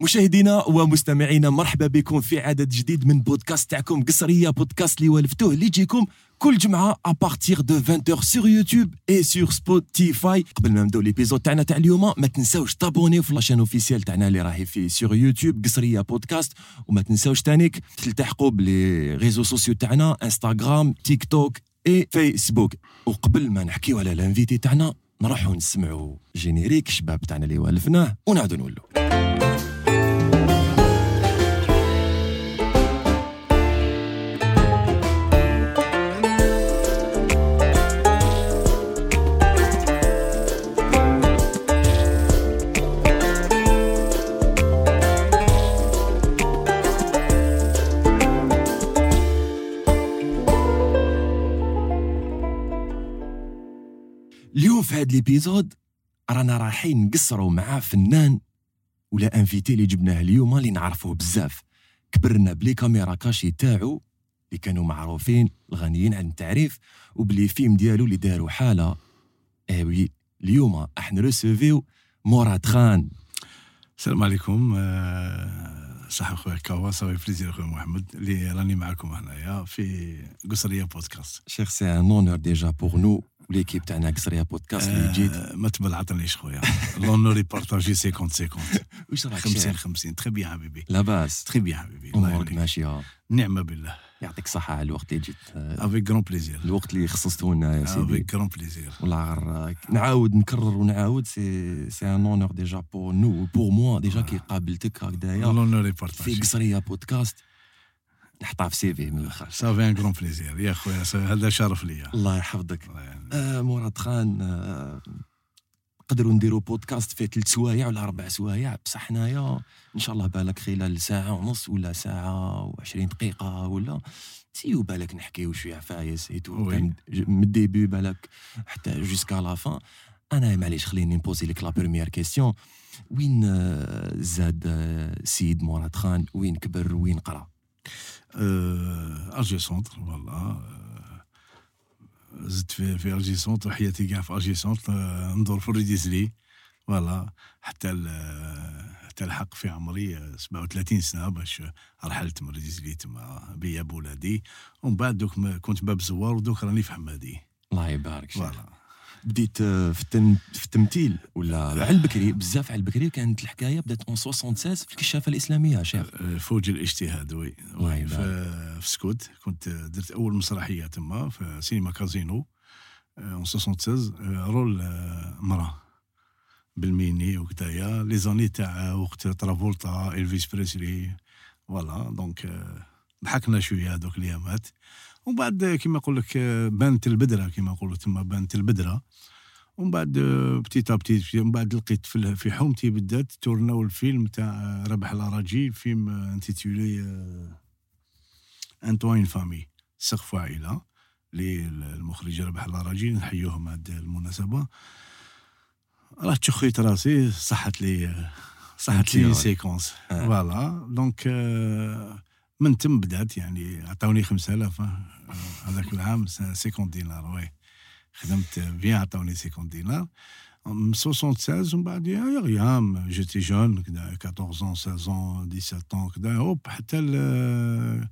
مشاهدينا ومستمعينا، مرحبا بكم في عدد جديد من بودكاست تاعكم قصرية، بودكاست اللي والفتوه اللي يجيكم كل جمعة ابارتيغ دو 20h سور يوتيوب اي سور سبوتيفاي. قبل ما نبداو ليبيزود تاعنا تاع اليوم، ما تنساوش تابونيو في لاشين اوفيسيال تاعنا اللي راهي في سور يوتيوب قصرية بودكاست، وما تنساوش تانيك تلتحقوا بلي ريزو سوسيو تاعنا انستغرام تيك توك اي فيسبوك. وقبل ما نحكيو على الانفيتي تاعنا، نروحوا نسمعوا جينيريك شباب تاعنا اللي والفناه ونعاودوا نولوا. اليوم في هذا الابيزود رانا رايحين نقصروا مع فنان ولا انفيتي اللي جبناه اليوم اللي نعرفوه بزاف، كبرنا بلي كاميرا كاشي تاعو اللي كانوا معروفين الغنيين عن التعريف، وبلي فيلم ديالو اللي داروا حاله. وي اليوم احنا ريسيفيو مراد خان. السلام عليكم. صح خويا كوا، صافي بليزير خويا محمد اللي راني معكم هنايا في قصريه بودكاست. شيخ سي ان اونور ديجا بور نو وليكيب تاعنا قصريه بودكاست اللي جيت. ما تبلعطنيش خويا، لونور بارطاجي 50 واش راك 50 تري بيان حبيبي. لاباس تري بيان حبيبي، امورك ماشيه؟ نعمه بالله. يعطيك الصحه على الوقت اللي جيت. افيك غران بليزير. الوقت اللي خصصتوا لنا يا سيدي. افيك غران بليزير. والله غير نعاود نكرر ونعاود، سي ان اونور ديجا بور نو بور موا ديجا كي قابلتك هكذايا لونور بارطاجي في قصريه بودكاست، نحطها في سي في من الاخر. صافي ان غران بليزير يا خويا، هذا شرف ليا. الله يحفظك. مراد خان، نقدروا نديروا بودكاست فيه 3 سوايع ولا 4 سوايع، بصح حنايا ان شاء الله بالك خلال ساعه ونص ولا ساعه و20 دقيقه ولا سيو بالك نحكيو شويه فايس ايتو من الديبي بالك حتى جوسكا لا فان. انا معليش خليني نبوزي لك لا بروميير كيسيون. وين زاد سيد مراد خان؟ وين كبر وين قرا؟ ارجي سونتر والله. زدت في ارجي سونتر، حياتي كاع في ارجي سونتر، ندور في الريديزلي فوالا حتى الحق في عمري 37 سنه باش رحلت من الريديزلي تما بيا بولادي، ومن بعد دوك كنت باب زوار ودوك راني في حمادي. الله يبارك فيك. فوالا بديت في التمثيل ولا على البكري؟ بزاف على البكري كانت الحكايه، بدات اون 76 في الكشافه الاسلاميه شيخ. فوج الاجتهاد وي في سكوت. كنت درت اول مسرحيه تما في سينما كازينو اون 76، رول مراه بالميني وكدايا لي زاني تاع وقت ترافولتا إلفيس بريسلي فوالا. دونك ضحكنا شويه هذوك الايامات، ومن بعد كيما نقول لك بانت البدره، كيما نقولوا تما بانت البدره. ومن بعد بتيتا بتيت، من بعد لقيت في حومتي بالذات تورناو الفيلم تاع ربح الاراجي، فيلم انتيتولي انطوين فامي سقف عائله للمخرج ربح الاراجي، نحيوهم هذه المناسبه. راه تشخيت راسي، صحت لي سيكونس فوالا. دونك من تم بدات يعني عطاوني 5000 هذاك العام 50 دينار. وي خدمت بيان، عطاوني 50 دينار من 76. ومن بعد يا غيام جيتي جون كدا 14 16 17 كدا هوب حتى ال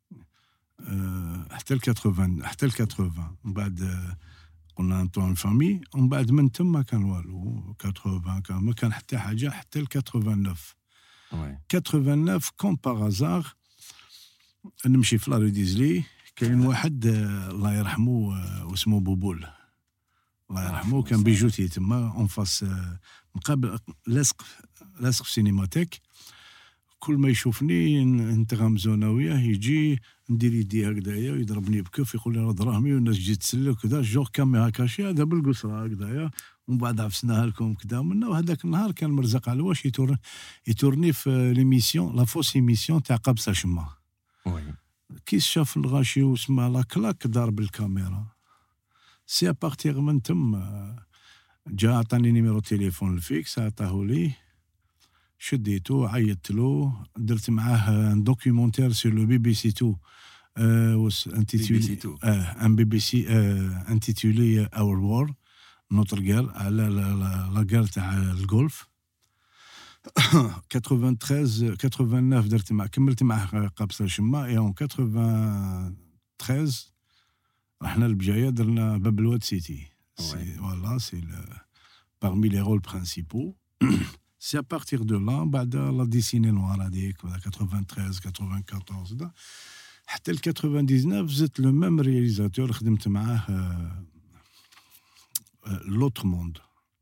80. من بعد قلنا نطلعوا الفامي، ومن بعد من تم ما كان والو. 80 ما كان حتى حاجه حتى ال 89. 89 كوم باغازار نمشي في لاريديزلي، كاين واحد الله يرحمه واسمه بوبول الله يرحمه، كان بيجوتي تما اون فاس مقابل لاصق في سينماتيك. كل ما يشوفني نتغمزونا وياه، يجي ندير يدي هكذايا ويضربني بكف، يقول لي راه دراهمي والناس تجي تسلك وكذا، جور كاميرا كاشي هذا بالقصره هكذايا. ومن بعد عفسناها لكم كذا منا. وهذاك النهار كان مرزق على واش يتورني في ليميسيون لا فوس ايميسيون تاع قبصه شما. كي شاف الغاشي وسمع لا كلاك ضرب الكاميرا. سي ابارتيغ من تم جا عطاني نيميرو تليفون الفيكس، عطاهولي شديتو عيطت له، درت معاه ان دوكيومونتير سور لو بي بي سي 2 ان بي بي سي انتيتولي اور وور نوتر غير على لا غير تاع الجولف. 93 89 درت مع كملت معاه قابصه شما اي اون 93 رحنا لبجايه درنا باب الواد سيتي فوالا سي parmi les rôles principaux c'est à partir de là بعد لا ديسيني نوار هذيك 93 94 حتى ل 99 زدت لو ميم رياليزاتور خدمت معاه لوتر موند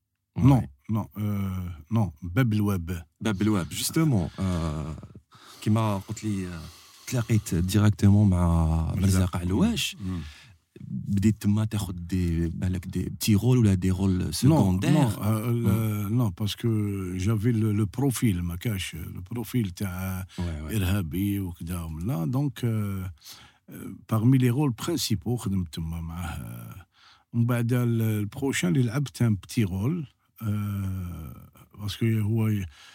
non باب الواب justement كيما قلت لي تلاقيت ديريكتومون مع مرزاق علواش بديت تما تاخذ دي بالك دي بتي رول ولا دي رول سكوندير non parce que j'avais le profil ما كاش le profil تاع ارهابي وكذا ولا donc parmi les rôles principaux خدمت تما معاه ومن بعد البروشان اللي لعبت ان بتي رول باسكو هو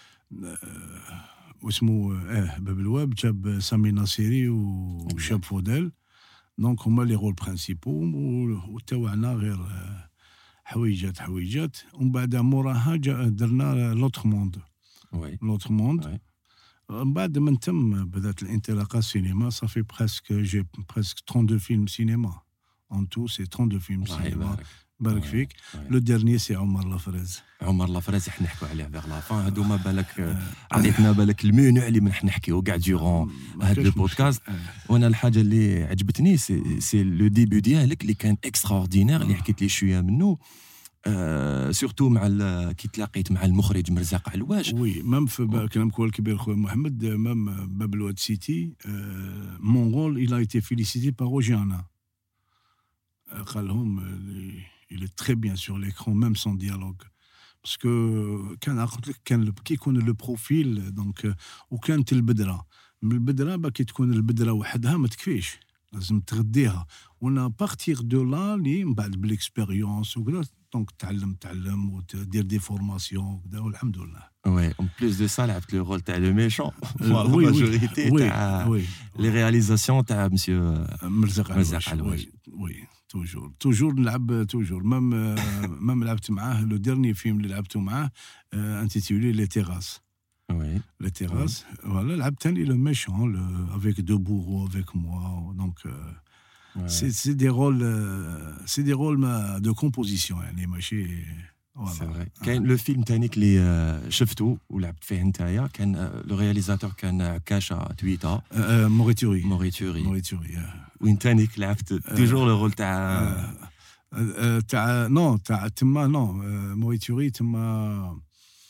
واسمه باب الواب جاب سامي ناصيري وشاب فوديل دونك هما لي رول برينسيبو وتاوعنا غير حويجات ومن بعد موراها درنا لوتر موند من بعد من تم بدات الانطلاقه السينما صافي بريسك جي بريسك 32 فيلم سينما en tout c'est 32 فيلم سينما بارك فيك لو ديرني سي عمر لافريز احنا نحكوا عليه فيغ لا فان هادو ما بالك عطيتنا بالك المنوع اللي من نحكيو كاع ديورون هاد لو بودكاست وانا الحاجه اللي عجبتني سي لو ديبي ديالك اللي كان اكستراوردينير اللي حكيت لي شويه منه سورتو مع كي تلاقيت مع المخرج مرزاق علواش وي ميم في كلامك هو الكبير خويا محمد ميم باب الواد سيتي مون رول il a été félicité par Ogiana قال لهم il est très bien sur l'écran même sans dialogue parce que كان كي يكون لو بروفيل دونك وكانت البدره من البدره كي تكون البدره وحدها ما تكفيش لازم تغديها وانا بارتير دو لا لي من بعد بالاكسبيريونس وكذا دونك تعلم ودير دي فورماسيون وكذا والحمد لله وي اون بليس دو سا لعبت لو رول تاع لو ميشون لا ماجوريتي تاع لي رياليزاسيون تاع مسيو مرزاق علواش وي توجور نلعب توجور مام لعبت معاه لو ديرني فيلم اللي لعبته معاه انتيتولي لي تيراس لي تيراس فوالا لعبت ثاني لو ميشون افيك دو بورو افيك موا دونك سي دي رول دو كومبوزيسيون يعني ماشي فوالا كاين لو فيلم تانيك اللي شفته ولعبت فيه نتايا كان لو رياليزاتور كان عكاشة تويتا موريتوري وين تانيك لعبت توجور لو رول تاع تما موريتوري تما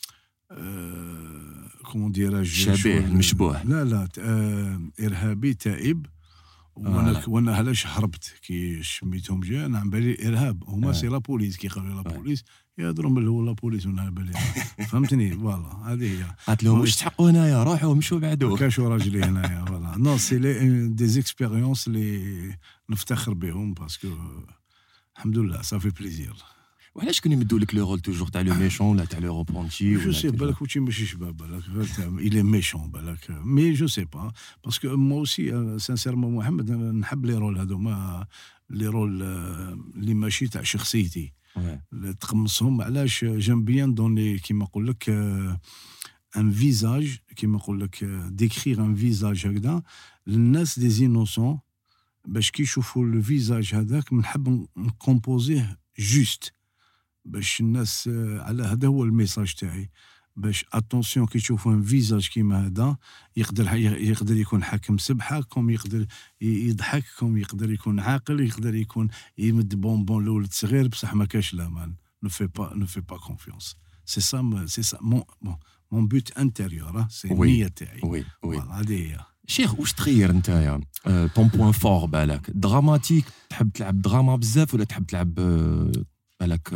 كومون ديراج شبيه المشبوه لا ارهابي تائب وانا علاش هربت كي شميتهم جا انا عم بالي ارهاب هما سي لا بوليس كي قالوا لا بوليس يهضروا من هو لا بوليس وانا بالي فهمتني فوالا هذه هي قالت لهم واش تحقوا هنايا روحوا مشوا بعدو كاشوا راجلي هنايا فوالا نو سي دي زيكسبيريونس اللي نفتخر بهم باسكو الحمد لله صافي بليزير وعلاش كانوا يمدوا لك لو رول توجور تاع لو ميشون ولا تاع لو روبونتي جو سي بالك وشي ماشي شباب بالك il est méchant بالك مي جو سي با باسكو مو اوسي سانسيرمون محمد نحب لي رول هذوما لي رول اللي ماشي تاع شخصيتي تقمصهم علاش جيم بيان دوني كيما نقول لك ان فيزاج كيما نقول لك ديكرير ان فيزاج هكذا للناس دي زينوسون باش كي يشوفوا الفيزاج هذاك نحب نكومبوزيه جوست باش الناس على هذا هو الميساج تاعي باش اتونسيون كي تشوفوا ان فيزاج كيما هذا يقدر يكون حاكم سبحه كوم يقدر يضحك كوم يقدر يكون عاقل يقدر يكون يمد بونبون لولد صغير بصح ما كاش الامان ne fais pas confiance c'est ça mon but intérieur c'est النية تاعي وي هذه هي شيخ واش تغير نتايا طون بوين فور بالك دراماتيك تحب تلعب دراما بزاف ولا تحب تلعب بالك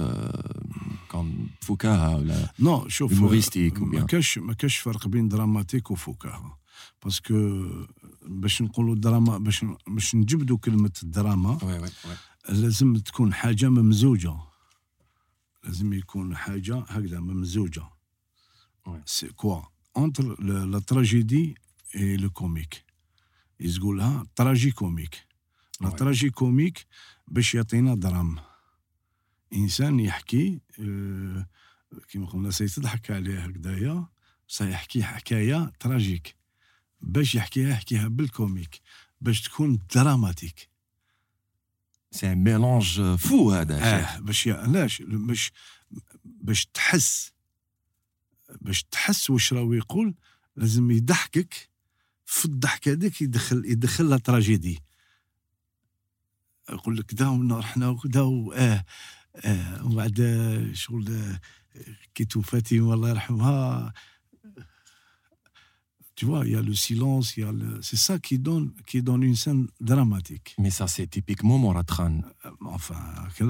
كم فكاهه ولا نو شوف هيوموريستيك ما كاش فرق بين دراماتيك وفكاهه باسكو باش نقولوا دراما باش نجبدوا كلمه الدراما لازم تكون حاجه ممزوجه لازم يكون حاجه هكذا ممزوجه سي كوا انتر لا تراجيدي اي لو كوميك يقولها تراجي كوميك لا تراجي كوميك باش يعطينا دراما انسان يحكي كيما قلنا سيتضحك عليه هكذايا سيحكي حكايه تراجيك باش يحكيها بالكوميك باش تكون دراماتيك. سي ان ميلانج فو هذا. باش علاش باش تحس واش راهو يقول. لازم يضحكك في الضحك هذاك يدخل لا تراجيدي. يقول لك داو رحنا وداو وبعد شغل كي توفاتي والله يرحمها. Tu vois, il y a le silence, c'est ça qui donne une scène dramatique. Mais ça, c'est typiquement Mourad Khan. Enfin,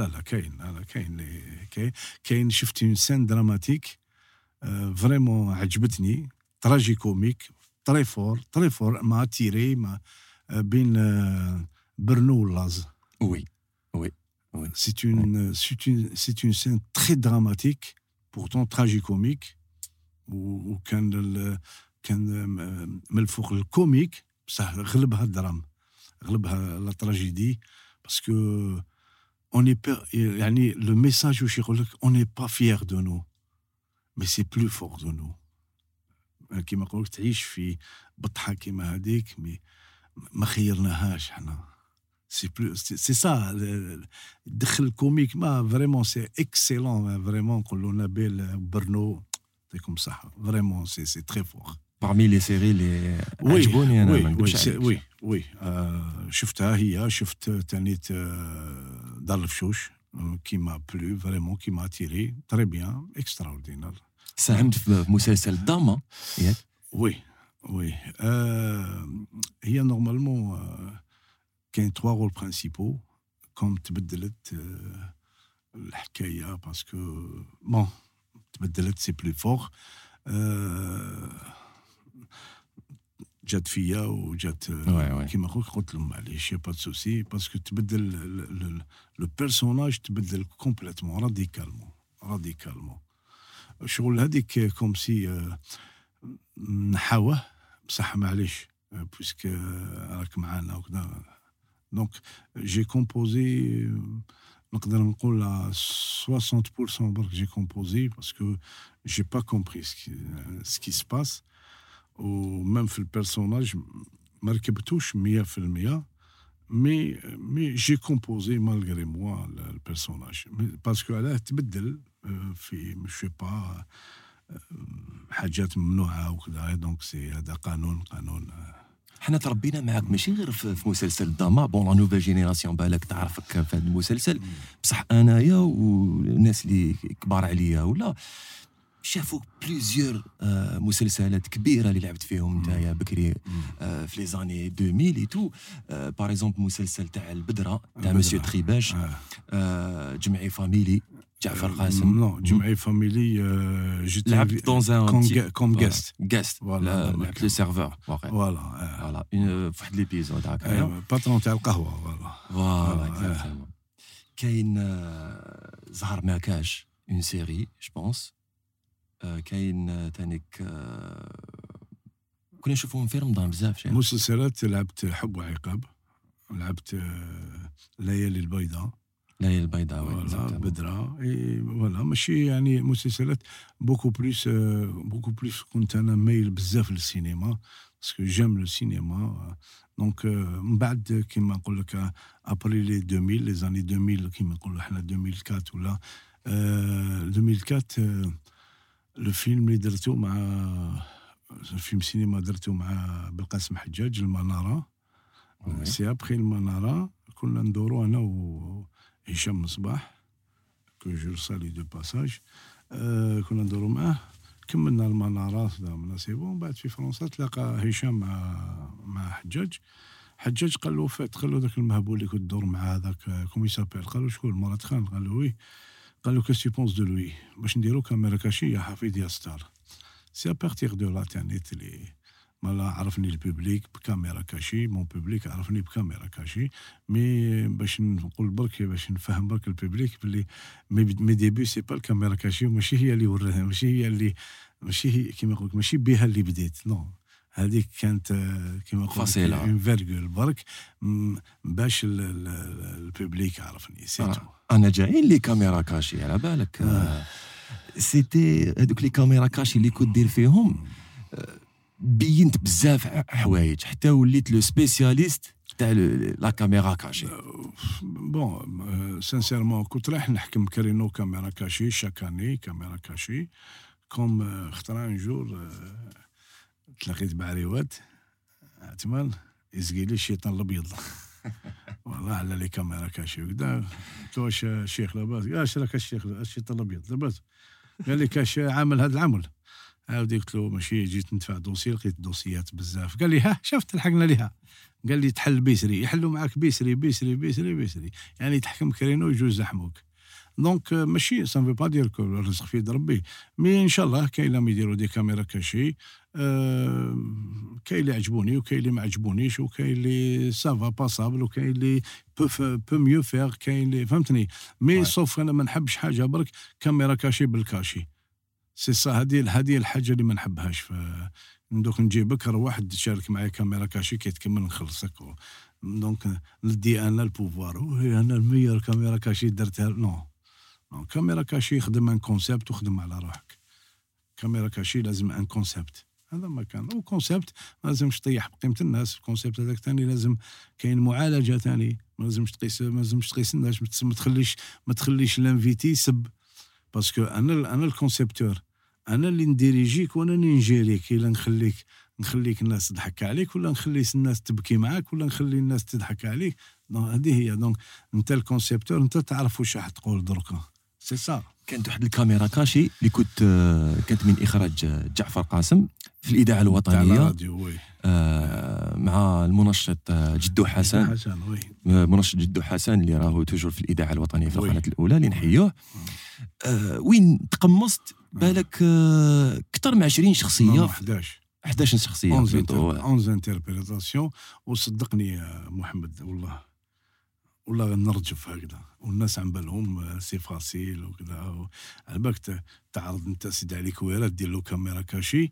كاين شفت une scène dramatique vraiment عجبتني, tragicomique, très fort, m'a attiré, بين برنو واللاز. Oui. C'est une scène très dramatique, pourtant tragicomique, où كان من الفوق الكوميك بصح غلبها الدرام, غلبها لا تراجيدي, باسكو on est يعني le message واش يقول لك on n'est pas fier de nous mais c'est plus fort de nous. كيما نقولك تعيش في بطحه كيما هذيك ما خيرناهاش حنا. c'est ça دخل الكوميك ما فريمون سي اكسيلون فريمون. نقولوا نبيل برنو يعطيكم الصحه فريمون سي تري فور. Parmi les séries les عجبوني انا. وي شفتها هي. شفت تانيت دار الفشوش كيما بلو فريمون كيما تيري تري بيان اكستراوردينار. ساهمت في مسلسل داما ياك؟ وي هي نورمالمون كاين 3 رول برينسيبو كوم تبدلت الحكايه باسكو بون تبدلت سي بلو فور. جات فيا وجات كيما قلت لهم معليش با سوسي باسكو تبدل لو بيرسوناج تبدل كومبليتمون راديكالمون. شغل هذيك كوم سي نحاوه بصح معليش بويسك راك معانا وكذا. دونك جي كومبوزي نقدر نقول 60% برك جي كومبوزي باسكو جي با كومبري سكي سباس. ومام في البيرسوناج ما ركبتوش 100% مي جي كومبوزي مالغري موا البيرسوناج باسكو علاه تبدل في مش با حاجات ممنوعه وكذا. دونك سي هذا قانون. حنا تربينا معاك ماشي غير في مسلسل داما. بون لا نوفيل جينيراسيون بالك تعرفك في هذا المسلسل, بصح انايا والناس اللي كبار عليا ولا شافوا بليزيور مسلسلات كبيره اللي لعبت فيهم نتايا بكري في لي زاني 2000 اي تو. باغ اكزومبل مسلسل تاع البدره تاع مسيو تريباج, جمعي فاميلي جعفر قاسم. نو جمعي فاميلي لعبت دون كوم غاست فوالا لعبت لو سيرفور فوالا في واحد ليبيزود هكا باترون تاع القهوه فوالا. كاين زهر ماكاش اون سيري جو بونس. كاين تانيك كنا نشوفوهم في رمضان بزاف. مسلسلات لعبت حب وعقاب, لعبت ليالي البيضاء بدرة فوالا. ماشي يعني مسلسلات بوكو بليس كنت انا مايل بزاف للسينما باسكو جيم لو سينما. دونك من بعد كيما نقول لك ابري لي 2000 لي زاني 2000 كيما نقولوا حنا 2004 ولا 2004 لو فيلم اللي درتو مع فيلم سينما درتو مع بالقاسم حجاج المنارة. سي ابخي المنارة كنا ندورو انا وهشام مصباح كو جو سالي دو باساج. كنا ندورو معاه كملنا المنارة من سي بون. بعد في فرنسا تلاقى هشام مع حجاج قال له فات قال له ذاك المهبول اللي كنت تدور مع هذاك كومي سابيل. قال له شكون مراد خان؟ قال له وي. قال له كاش بونس دو لوي باش نديرو كاميرا كاشي يا حفيد يا ستار. سي ابارتيغ دو لانترنيت اللي مالا عرفني البوبليك بكاميرا كاشي. مون بوبليك عرفني بكاميرا كاشي. مي باش نقول برك باش نفهم برك البوبليك بلي مي ديبي سي با الكاميرا كاشي. ماشي هي اللي وراها ماشي هي كيما نقولك ماشي بها اللي بديت. نو هذيك كانت كما قلت فاصله اون فيرغول برك باش البوبليك عرفني سيتو. انا جايين لي كاميرا كاشي على بالك. سيتي هذوك لي كاميرا كاشي اللي كنت دير فيهم بينت بزاف حوايج حتى وليت لو سبيسياليست تاع لا كاميرا كاشي. بون سانسيرمون كنت رايح نحكم كرينو كاميرا كاشي شاكاني كاميرا كاشي كوم خطرا ان جور تلاقيت بعريوات اعتمال يزقي لي الشيطان الابيض والله على لي كاميرا كاشي وكذا. قلت له واش الشيخ لاباس؟ قال اش راك الشيخ الشيطان الابيض لاباس؟ قال لي كاش عامل هذا العمل. عاودي قلت له ماشي جيت ندفع دوسي لقيت دوسيات بزاف. قال لي ها شفت لحقنا ليها. قال لي تحل بيسري يحلوا معاك بيسري بيسري بيسري بيسري يعني تحكم كرينو يجوز يحموك. دونك ماشي سان في با دير كو الرزق في يد ربي مي ان شاء الله كاين لهم يديروا دي كاميرا كاشي. كاين اللي عجبوني وكاين اللي ما عجبونيش وكاين اللي سافا باسابل وكاين اللي بو ميو فيغ كاين اللي فهمتني مي سوف انا ما نحبش حاجه برك كاميرا كاشي بالكاشي سي سا. هذه الحاجه اللي ما نحبهاش. دوك نجيبك واحد تشارك معايا كاميرا كاشي كي تكمل نخلصك دونك ندي انا البوفوار انا الميور كاميرا كاشي درتها. نو كاميرا كاشي خدم ان كونسيبت وخدم على روحك. كاميرا كاشي لازم ان كونسيبت هذا ما كان وكونسيبت ما لازمش تطيح بقيمه الناس. الكونسيبت هذاك ثاني لازم كاين معالجه ثاني ما لازمش تقيس الناس ما تخليش لانفيتي يسب باسكو انا الكونسيبتور انا اللي نديريجيك وانا اللي نجيريك. الا نخليك الناس تضحك عليك ولا نخلي الناس تبكي معاك ولا نخلي الناس تضحك عليك. هذه هي دونك انت الكونسيبتور انت تعرف واش راح تقول دركا سي سا. كانت واحد الكاميرا كاشي اللي كانت من اخراج جعفر قاسم في الاذاعه الوطنيه مع المنشط جدو حسن. منشط جدو حسن اللي راهو توجور في الاذاعه الوطنيه في القناه الاولى اللي نحيوه. وين تقمصت بالك اكثر من 20 شخصيه 11 شخصيه 11 انتربريتاسيون. وصدقني يا محمد والله نرجف هكذا والناس عم بالهم سي فاسيل وكذا. على بالك تعرض انت سيدي علي كويرات دير له كاميرا كاشي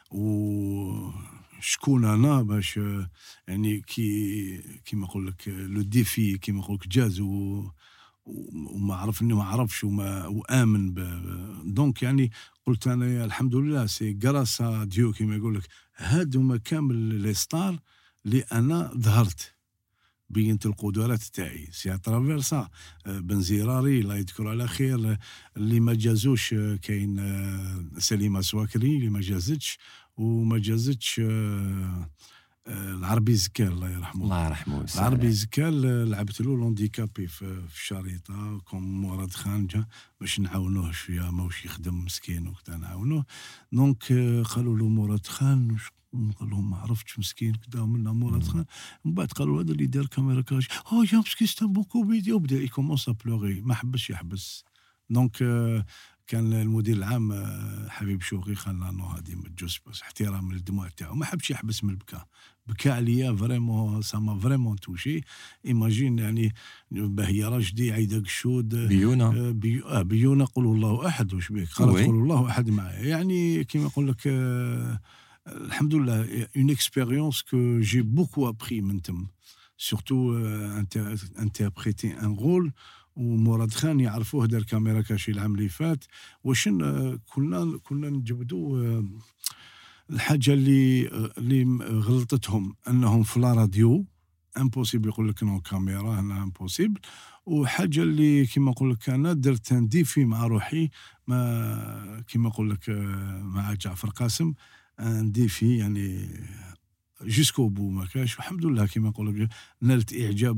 وشكون انا باش يعني كيما نقول لك لو ديفي كيما نقول لك جاز وما عرفني ما عرفش وامن دونك يعني قلت انا الحمد لله سي غراسا ديو كيما يقول لك هادوما كامل لي ستار اللي انا ظهرت بينت القدرات تاعي سي اترافير سا. بنزيراري الله يذكر على خير اللي ما جازوش كاين سليمه سواكري اللي ما جازتش وما جازتش العربي زكال الله يرحمه. الله يرحمه. العربي زكال لعبت له لونديكابي في الشريطه كوم مراد خان جا باش نعاونوه شويه ماوش يخدم مسكين وكذا نعاونوه. دونك قالوا له مراد خان قال لهم ما عرفتش مسكين كذا منا مراد خان. من بعد قالوا هذا اللي دار كاميرا كاش يا مسكين ستا بوكو فيديو بدا يكومونس بلوغي ما حبش يحبس. دونك كان المدير العام حبيب شوقي قال نو هذه ما تجوز بس احترام للدموع تاعو ما حبش يحبس من البكاء. بكى عليا فريمون سما فريمون توشي. ايماجين يعني باهيه راشدي عايده قشود بيونا بيونا قولوا الله احد واش بيك قالت قولوا الله احد معايا يعني كيما نقول لك الحمد لله اون اكسبيريونس كو جي بوكو ابري من تم سورتو انتربريتي ان رول. ومراد خان يعرفوه دار كاميرا كاشي العام اللي فات واش كنا نجبدوا الحاجه اللي غلطتهم انهم في لا راديو امبوسيبل يقول لك نو كاميرا هنا امبوسيبل. وحاجه اللي كيما نقول لك انا درت ديفي مع روحي ما كيما نقول لك مع جعفر قاسم ديفي يعني جوسكو بو ما كاش والحمد لله كيما نقول لك نالت اعجاب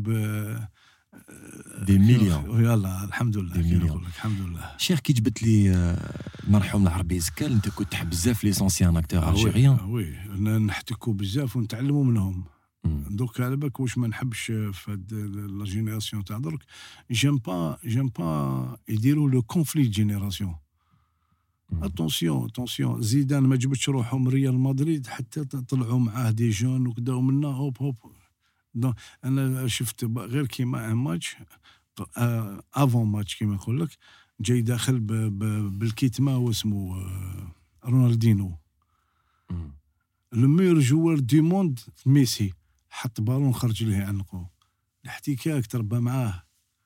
دي مليون. يلا الحمد لله نقول لك الحمد لله. شيخ كي جبت لي المرحوم العربي زكال انت كنت تحب بزاف لي سونسيان اكتور الجيريان. وي نحتكوا بزاف ونتعلموا منهم. دوك على بالك واش ما نحبش في هاد لا جينيراسيون تاع درك جيم با يديروا لو كونفلي جينيراسيون. اتونسيون زيدان ما جبتش روحهم من ريال مدريد حتى طلعوا معاه دي جون وكذا ومنا هوب انا شفت غير كيما ان ماتش افون ماتش كيما نقول لك جاي داخل بالكيتما واسمه رونالدينو لو ميور جوار دي موند ميسي حط بالون خرج ليه عنقه الاحتكاك تربى معاه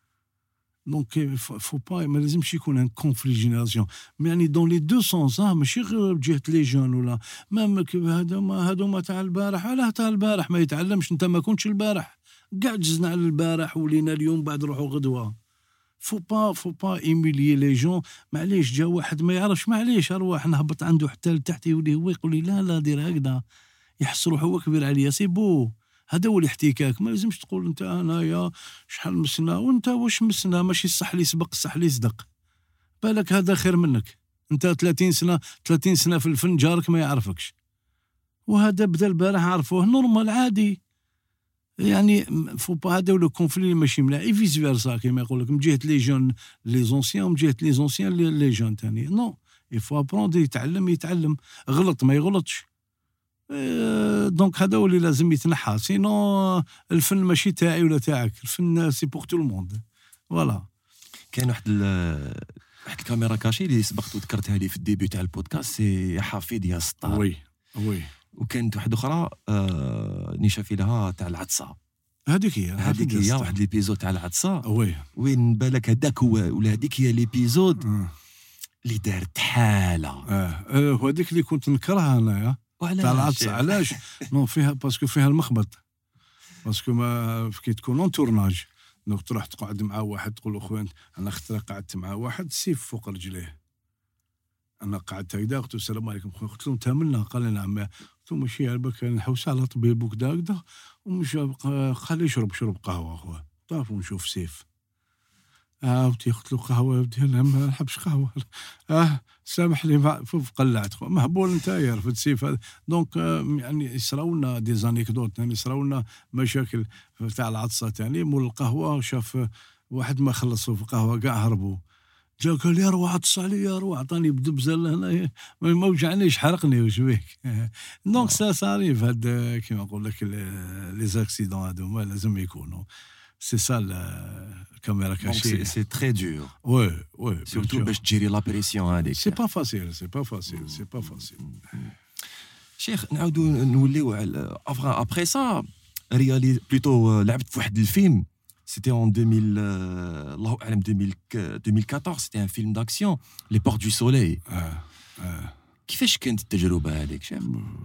دونك فو با ما لازمش يكون ان كونفلي جينيراسيون يعني دون لي دو سونس ماشي غير بجهه لي جون ولا ما هذوما تاع البارح علاه تاع البارح ما يتعلمش انت ما كنتش البارح كاع جزنا على البارح ولينا اليوم بعد نروحوا غدوه فو با ايميليي لي جون معليش جا واحد ما يعرفش معليش ارواح نهبط عنده حتى لتحت يولي هو يقول لي لا دير هكذا يحس روحه هو كبير عليا سي بو هذا هو الاحتكاك ما لازمش تقول انت انايا شحال مسنا وانت واش مسنا ماشي الصح لي سبق الصح لي صدق بالك هذا خير منك انت 30 سنه في الفن جارك ما يعرفكش وهذا بدا البارح عرفوه نورمال عادي يعني فو با هذا ولا كونفلي ماشي ملاعب فيس فيرسا كيما يقول لك من جهه لي جون لي زونسيان ومن جهه لي زونسيان لي جون ثاني نو يفو ابروندر يتعلم غلط ما يغلطش دونك هذا هو اللي لازم يتنحى سينو الفن ماشي تاعي ولا تاعك الفن سي بور تو الموند فوالا كاين واحد الكاميرا كاشي اللي سبقت وذكرتها لي في الديبي تاع البودكاست سي حفيظ يا سطار وي وكانت واحده اخرى نشافي لها تاع العطسه هذيك هي واحد ليبيزود تاع العطسه وي وين بالك هذاك هو ولا هذيك هي ليبيزود اللي دارت حاله وهذيك اللي كنت نكرهها انايا تاع العطسه علاش نو فيها باسكو فيها المخبط باسكو ما كي تكون اون تورناج دونك تروح تقعد مع واحد تقول له خويا انا خطره قعدت مع واحد سيف فوق رجليه انا قعدت هكذا قلت له السلام عليكم خويا قلت له انت منا قال لي نعم قلت له ماشي عباك نحوس على طبيب وكذا ومش خليه شرب قهوه خويا طاف ونشوف سيف ودي قلت له قهوه يا ودي انا ما نحبش قهوه سامح لي قلعت خويا مهبول انت يا رفد سيف دونك يعني يصراولنا دي زانيكدوت يعني يصراولنا مشاكل تاع العطسه ثاني مول القهوه شاف واحد ما خلصوا في القهوه كاع هربوا جا قال لي روح عطس علي يا روح عطاني بدبزه هنا ما وجعنيش حرقني واش بيك دونك سا صاريف هاد كيما نقول لك لي زاكسيدون هادوما لازم يكونوا سي سا الكاميرا كاشي سي تري دور وي سورتو باش تجيري لا بريسيون هذيك سي با فاسيل شيخ نعاودو نوليو على ابخي سا ريالي بلوتو لعبت في واحد الفيلم C'était en 2014, c'était un film d'action, Les Portes du Soleil. كيفاش كانت التجربة هذيك شيخ؟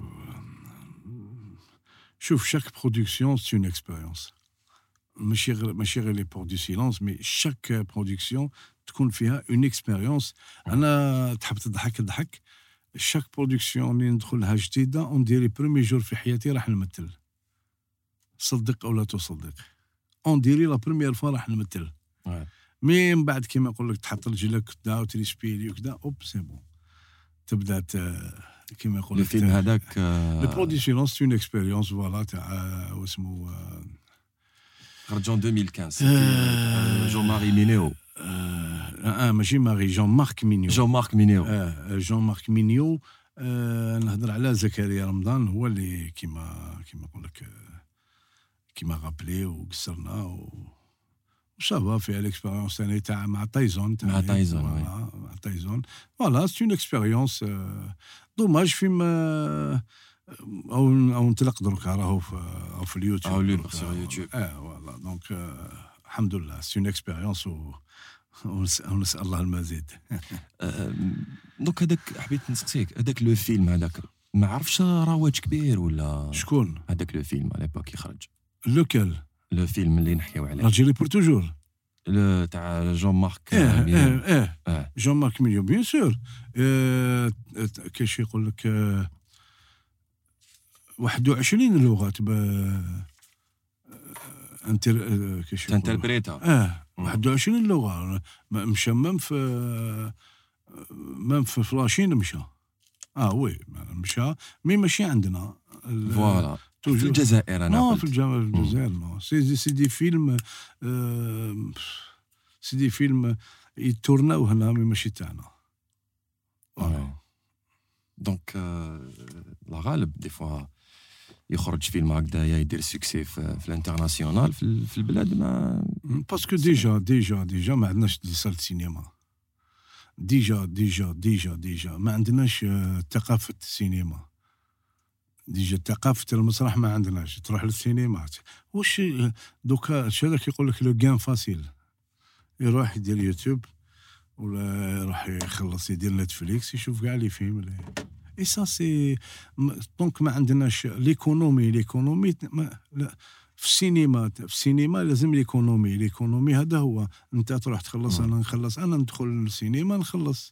شوف chaque production c'est une expérience. ماشي غير Les Portes du Silence, mais chaque production تكون فيها une expérience. أنا تحب تضحك. chaque production اللي ندخلها جديدة on dirait premier jour في حياتي راح نمثل. صدق أو لا تصدق. اون ديري لا بروميير فوا راح نمثل مي من بعد كيما نقول لك تحط رجلك كدا وتريسبيري وكدا اوب سي بون تبدا كيما يقول لك الفيلم هذاك لو بروديسيون سي اون اكسبيريونس فوالا تاع واسمو خرج 2015 جون ماري مينيو ماشي ماري جون مارك مينيو نهضر على زكريا رمضان هو اللي كيما نقول لك كيما غابلي وقصرنا وصافا فيها الاكسبيريونس ثاني تاع مع تايزون فوالا سي اون اكسبيريونس دوماج فيلم او نطلق دركا راهو في اليوتيوب فوالا دونك الحمد لله سي اون اكسبيريونس ونسال الله المزيد دونك هذاك حبيت نسقسيك هذاك لو فيلم هذاك ما عرفش رواج كبير ولا شكون هذاك لو فيلم على باك يخرج لوكال لو فيلم اللي نحكيو عليه راجلي بور توجور تاع جون مارك جون مارك مينيو بيان سور كاش يقول لك 21 لغه كاش تانتربريتا 21 لغه مشى مام في فلاشين مشى وي مشى مي ماشي عندنا فوالا في الجزائر انا في الجزائر نو سي دي فيلم يتورناو هنا مي ماشي تاعنا دونك لا غالب دي فوا يخرج فيلم هكذايا يدير سوكسي في الانترناسيونال في البلاد ما باسكو ديجا ما عندناش دي سال سينما ديجا ما عندناش ثقافه السينما ديجا ثقافه المسرح ما عندناش، تروح للسينما واش دوكا هذاك يقول لك لو كان فاسيل، يروح يدير يوتيوب ولا يروح يخلص يدير نتفليكس يشوف كاع لي فيلم اي سا سي دونك ما عندناش ليكونومي لا في السينما لازم ليكونومي هذا هو، انت تروح تخلص انا نخلص، انا ندخل للسينما نخلص.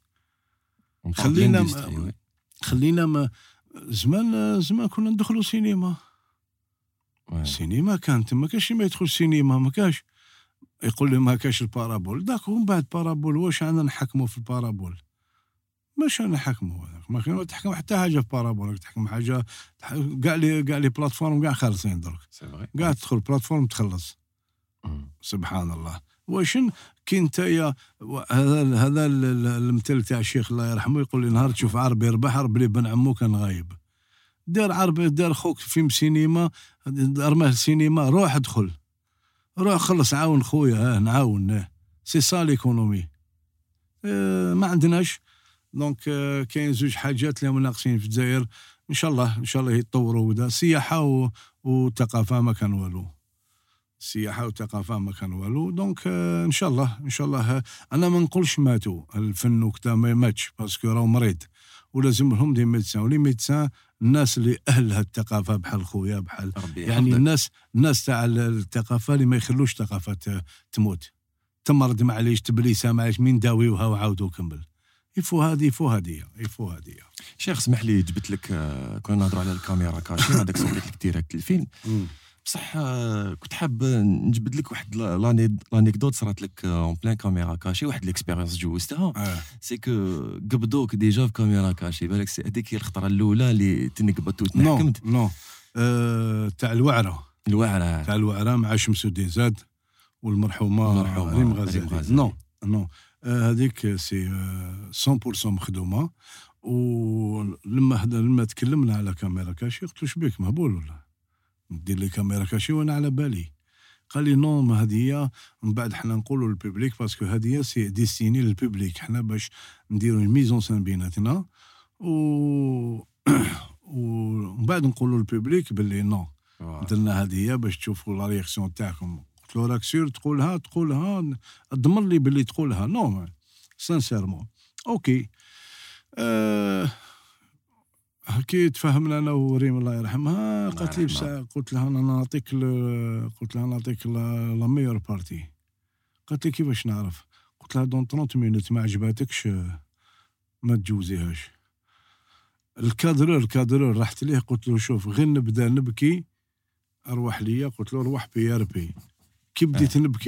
خلينا ما زمان كنا ندخلوا سينما. السينما كانت ما كاش ما يدخل السينما، ما كاش يقول لي ما كاش البارابول داك، ومن بعد بارابول واش عندنا نحكموا في البارابول؟ ماش انا نحكموا هذاك، ما كان تحكم حتى حاجه في بارابول، تحكم حاجه كاع لي بلاتفورم كاع خالصين درك، كاع تدخل بلاتفورم تخلص. سبحان الله. واش كي نتايا هذا المثل تاع الشيخ الله يرحمه يقول لي نهار تشوف عربي يربح عرب لي بن عمو كان غايب. دار خوك فيلم سينما، رماه السينما، روح ادخل، روح خلص عاون خويا، نعاون، سي سا ليكونومي. ما عندناش دونك كاين زوج حاجات اللي ناقصين في الجزائر، ان شاء الله يتطوروا. ودا سياحه وثقافه ما كان والو، السياحه والثقافه ما كان والو. دونك ان شاء الله انا ما نقولش ماتوا الفن وكذا، ما ماتش باسكو راهو مريض ولازم لهم دي ميدسان، ولي ميدسان الناس اللي اهل هالثقافه بحال خويا بحال يعني الناس تاع الثقافه اللي ما يخلوش الثقافه تموت تمرض، معليش تبليسه معليش مين داويوها وعاودوا كمل. يفو هذه شيخ اسمح لي جبت لك كنا نهضروا على الكاميرا كاشي هذاك صورت لك ديريكت الفيلم بصح كنت حاب نجبد لك واحد لانيكدوت صرات لك اون بلان كاميرا كاشي، واحد ليكسبيريونس جوزتها سي كو قبضوك ديجا في كاميرا كاشي، بالك هذيك هي الخطره الاولى اللي تنقبضت وتنحكمت. نو تاع الوعره تاع الوعره مع شمس الدين زاد والمرحومه ريم غزالي. نو هذيك سي 100% مخدومه. ولما تكلمنا على كاميرا كاشي قلت له شبيك مهبول ولا ندير لي كاميرا كاشي وانا على بالي؟ قال لي نو، ما هذه هي من بعد حنا نقولوا للبوبليك باسكو هذه هي سي ديستيني للبوبليك، حنا باش نديروا الميزون سان بيناتنا ومن بعد نقولوا للبوبليك باللي نو درنا هذه هي باش تشوفوا لا رياكسيون تاعكم. قلت له راك سير تقولها اضمن لي باللي تقولها. نو سانسيرمون اوكي. كي تفاهمنا انا وريم الله يرحمها قالت لي بساعه، قلت لها انا نعطيك لا ميور بارتي. قالت لي كيفاش نعرف؟ قلت لها دون 30 مينوت ما عجباتكش ما تجوزيهاش. الكادرور رحت ليه قلت له شوف غير نبدا نبكي اروح ليا، قلت له روح بي ار بي. كي بديت نبكي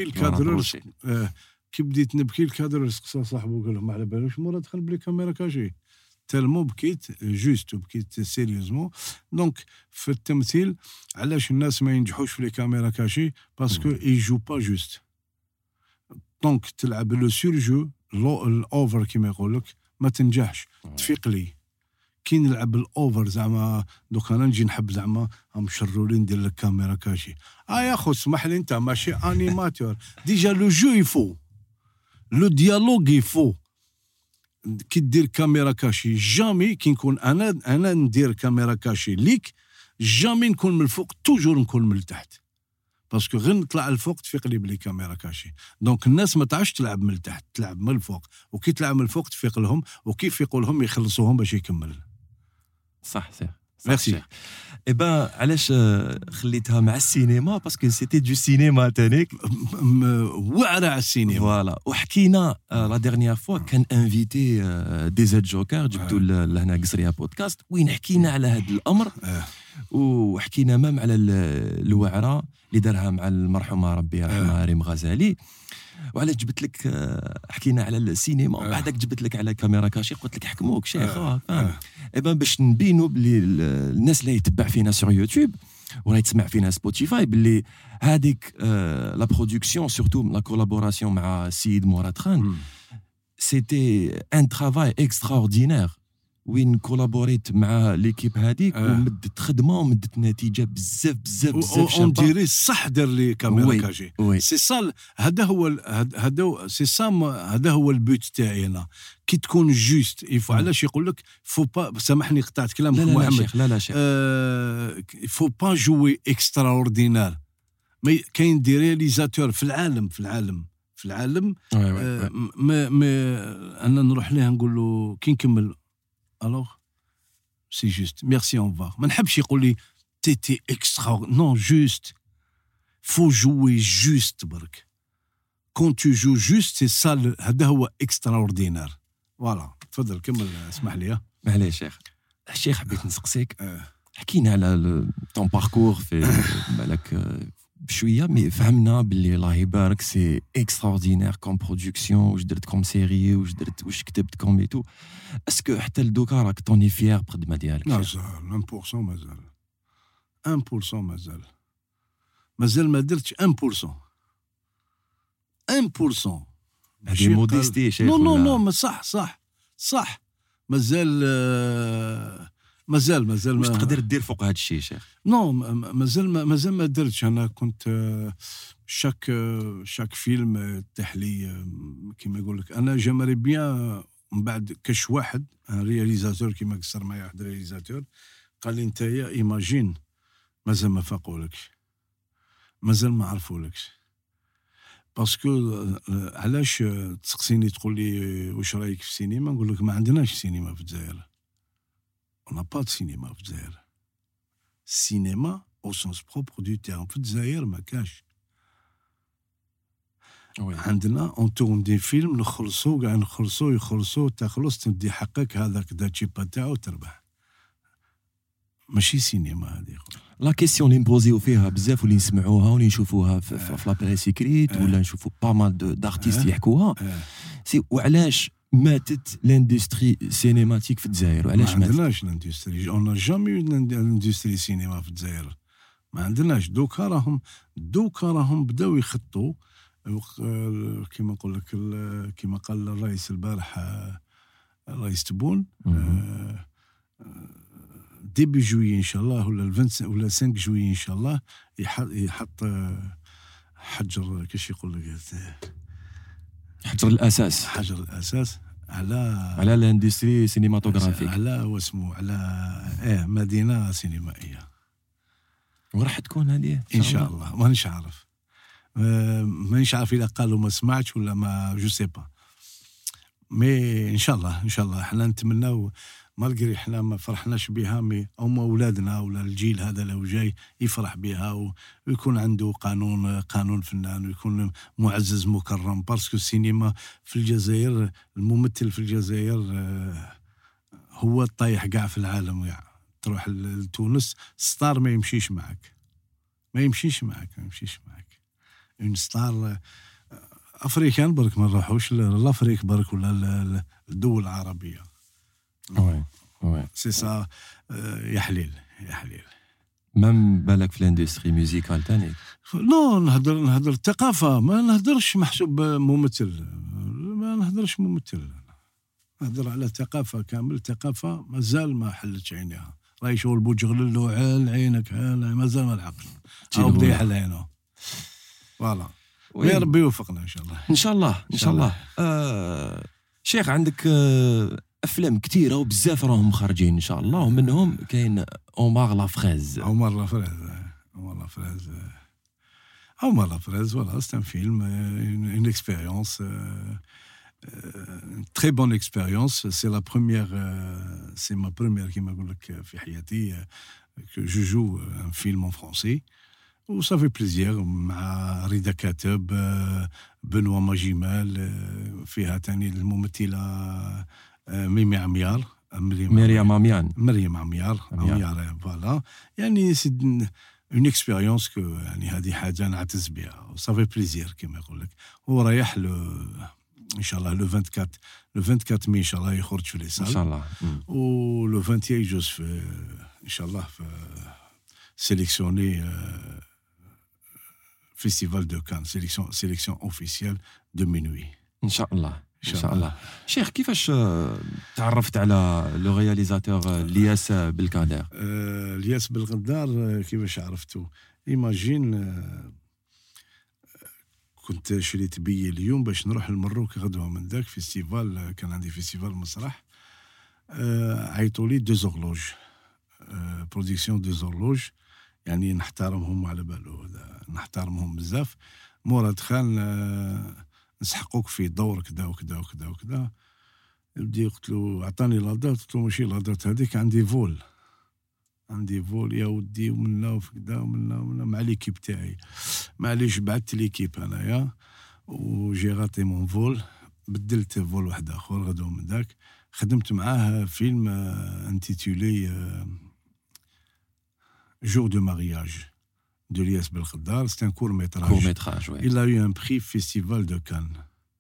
الكادرور سقسى صاحبه قال له ما على بالوش مورا دخل بلي كاميرا كاشي تالمو بكيت جوست وبكيت سيريوزمون. دونك في التمثيل علاش الناس ما ينجحوش في لي كاميرا كاشي؟ باسكو يجو با جوست. دونك تلعب لو سور جو الاوفر كيما يقول لك ما تنجحش. تفيق لي كي نلعب الاوفر زعما دوك انا نجي نحب زعما هم شرورين ندير لك كاميرا كاشي. يا خو اسمح لي انت ماشي انيماتور ديجا لو جو يفو لو ديالوج يفو. كي دير كاميرا كاشي جامي كي نكون انا ندير كاميرا كاشي ليك جامي نكون من الفوق، توجور نكون من التحت باسكو غير نطلع الفوق تفيق لي بلي كاميرا كاشي. دونك الناس ما تعرفش تلعب من التحت، تلعب من الفوق، وكي تلعب من الفوق تفيق لهم، وكي يفيقوا لهم يخلصوهم باش يكمل. صح ميرسي. علاش خليتها مع السينما؟ باسكو سيتي دو سينما تانيك وعرة على السينما. فوالا وحكينا لا ديرنيير فوا كان انفيتي دي زاد جوكر جبتو لهنا قصريه بودكاست وين حكينا على هذا الامر وحكينا مام على الوعره اللي دارها مع المرحومه ربي يرحمها ريم غزالي. وعلاش جبت لك حكينا على السينما وبعدك جبت لك على كاميرا كاشي قلت لك حكموك شيخ فاهم. باش نبينوا بلي الناس اللي يتبع فينا سور يوتيوب ولا يتسمع فينا سبوتيفاي باللي هذيك لا برودكسيون سورتو لا كولابوراسيون مع السيد مراد خان سيتي ان ترافاي اكستراوردينير وين كولابوريت مع ليكيب هذيك ومدت خدمه ومدت نتيجه بزاف بزاف بزاف اون ديري صح دار لي كاميرا كاجي وي. سي سا هذا هو البوت تاعي انا كي تكون جوست يفو علاش يقول لك فو با سامحني قطعت كلامك محمد شيخ لا شيخ فو با جوي اكسترا اوردينار مي كاين دي رياليزاتور في العالم ما انا نروح ليه نقول له كي نكمل الوغ سي جوست ميرسي اون فا ما نحبش يقول لي تي اكسترا نو جوست فو جوي جوست برك كون تو جو جوست سي سا هذا هو اكسترا اوردينار فوالا تفضل كمل اسمح لي معليش شيخ حبيت نسقسيك حكينا على طون باركور في بالك بشويه مي فهمنا باللي الله يبارك سي اكستراوردينير كوم برودكسيون واش درت كوم سيري واش كتبت كوم ايتو اسكو حتى لدوكا راك طوني فيير بخدمه ديالك مازال 1% مازال ما درتش 1% هذه موديستي شيخ نو ما صح مازال واش تقدر دير فوق هذا الشيء شيخ نو مازال ما درتش انا كنت شاك فيلم تحلي كيما يقول لك انا جامري بيان من بعد كاش واحد رياليزاتور كيما قصر معايا واحد رياليزاتور قال لي نتايا ايماجين مازال ما فاقولكش مازال ما عرفولكش باسكو علاش تسقسيني تقول لي واش رايك في السينما نقول لك ما عندناش سينما في الجزائر on n'a pas de cinéma في الجزائر cinéma au sens propre du terme في الجزائر ما كاش عندنا اون تورن دي فيلم نخلصوا كاع يخلصوا تخلص تدي حقك هذاك دا تشيبا تاعو تربح ماشي سينما هذه لا كيسيون اللي نبوزيو فيها بزاف واللي نسمعوها واللي نشوفوها في لا بريس اكريت ولا نشوفوا با مال دارتيست يحكوها سي وعلاش ماتت لاندستري سينماتيك في الجزائر وعلاش ماتت؟ ما عندناش لاندستري اون جامي لاندستري سينما في الجزائر ما عندناش دوكا راهم بداو يخطوا كيما نقول لك كيما قال الرئيس البارح الرئيس تبون ديبي جويي ان شاء الله ولا 5 جويي ان شاء الله يحط حجر كيش يقول لك حجر الاساس على الاندستري سينماتوغرافيك على واسمو على مدينه سينمائيه وراح تكون هذه ان شاء الله مانيش عارف اذا قالوا ما سمعتش ولا ما جو سي با مي ان شاء الله احنا نتمناو مالغري احنا ما فرحناش بها مي هما اولادنا ولا الجيل هذا لو جاي يفرح بها ويكون عنده قانون فنان ويكون معزز مكرم باسكو السينما في الجزائر الممثل في الجزائر هو الطايح كاع في العالم كاع تروح لتونس ستار ما يمشيش معك اون ستار افريكان برك ما نروحوش لافريك برك ولا الدول العربيه وي سي سا يا حليل مام بالك في الاندستري ميوزيكال تاني نو نهضر الثقافه ما نهضرش محسوب ممثل نهضر على ثقافه كامل ثقافه مازال ما حلتش عينيها راهي شغل بوجغل له عال عينك مازال ما لحقش او بدا يحل عينه فوالا يا ربي يوفقنا ان شاء الله شيخ عندك افلام كثيره وبزاف راهم خارجين ان شاء الله ومنهم كاين عمر لافريز voilà c'est un film une expérience une très bonne expérience c'est la première c'est ma première كيما نقول لك في حياتي que je joue un film en français و ça fait plaisir مع رضا كاتب بنوا ماجمال فيها تاني الممثله مريم عميار فوالا يعني سي اون اكسبيريونس كو يعني هذه حاجه نعتز بها وصافي بليزير كما يقول لك ورايح ان شاء الله لو 24 مي ان شاء الله يخرج في لي سال ان شاء الله و لو 21 يجوز في ان شاء الله في سيليكسيوني فيستيفال دو كان سيليكسيون اوفيسيال دو مينوي ان شاء الله ان شاء الله. شيخ كيفاش تعرفت على لو رياليزاتور الياس بالقادر؟ الياس بالقدار كيفاش عرفته؟ ايماجين كنت شريت بي اليوم باش نروح للمروك غدوه من ذاك فيستيفال، كان عندي فيستيفال مسرح. عيطوا لي 2 زورلوج برودكسيون 2 زورلوج، يعني نحترمهم على بالو، نحترمهم بزاف. مراد خان نسحقوك في دور كذا وكذا وكذا وكذا. بدي قلت له اعطاني لادات، قلت له ماشي لادات هذيك، عندي فول يا ودي ومنا وكذا ومنا مع ليكيب تاعي. معليش بعثت ليكيب انايا وجي غاطي مون فول، بدلت فول واحد اخر غدوه من ذاك. خدمت معاه فيلم انتيتولي Jour de mariage de Lias Belkhadar. C'est un court-métrage. Oui. Il a eu un prix Festival de Cannes.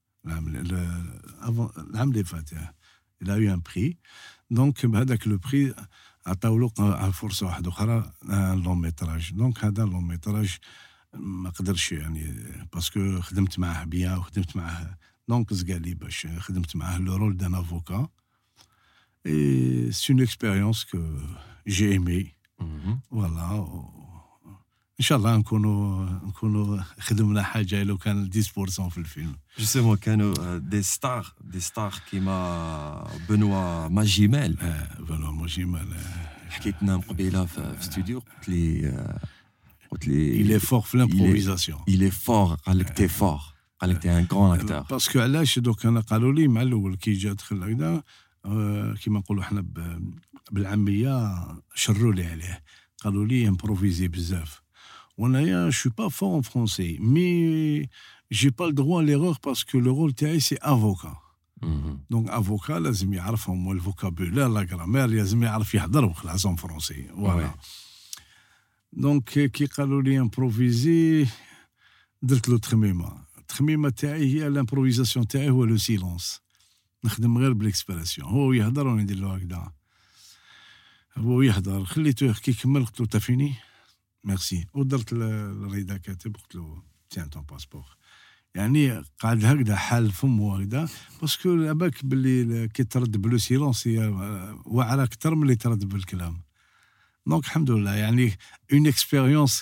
L'âme des Fatah. Il a eu un prix. Donc, avec le prix, à force un long métrage. Donc, هذا long métrage ما قدرش يعني باسكو خدمت معاه بيان وخدمت معاه. Donc, قال لي باش خدمت معاه le rôle d'un avocat. Et c'est une expérience que j'ai aimée. فوالا ان شاء الله نكونوا خدمنا حاجه لو كان 10% في الفيلم. جوستومون كانوا دي ستار كيما بنوا ماجيمال. بنوا ماجيمال حكيت لنا قبيله في استوديو، قلت لي il est fort في l'improvisation. il est fort. قال لك تي فور، قال لك تي ان غران اكتور. باسكو علاش دوك انا قالوا لي مع الاول كي جا دخل هكذا كيما نقولوا احنا بالعاميه شروا لي عليه، قالوا لي امبروفيزي بزاف. وانايا جو با فور ان فرونسي مي جي با الدغوا ليغور باسكو لو رول تاعي سي افوكا. دونك افوكا لازم يعرفهم الفوكابولير لا غرامير، لازم يعرف يهضر وخلاص ان فرونسي. فوالا دونك كي قالوا لي امبروفيزي درت له التخميمه تاعي هي الامبروفيزاسيون تاعي هو لو سيلونس. نخدم غير بالاكسبرسيون، هو يهضر وانا ندير له هكذا. هو يهضر خليته كي كمل قلت له تافيني ميرسي، ودرت الرضا كاتب قلت له تيان طون باسبور. يعني قاعد هكذا حال فمه هكذا باسكو عباك باللي كي ترد بلو سيلونس هي واعره اكثر من اللي ترد بالكلام. دونك الحمد لله يعني اون اكسبيريونس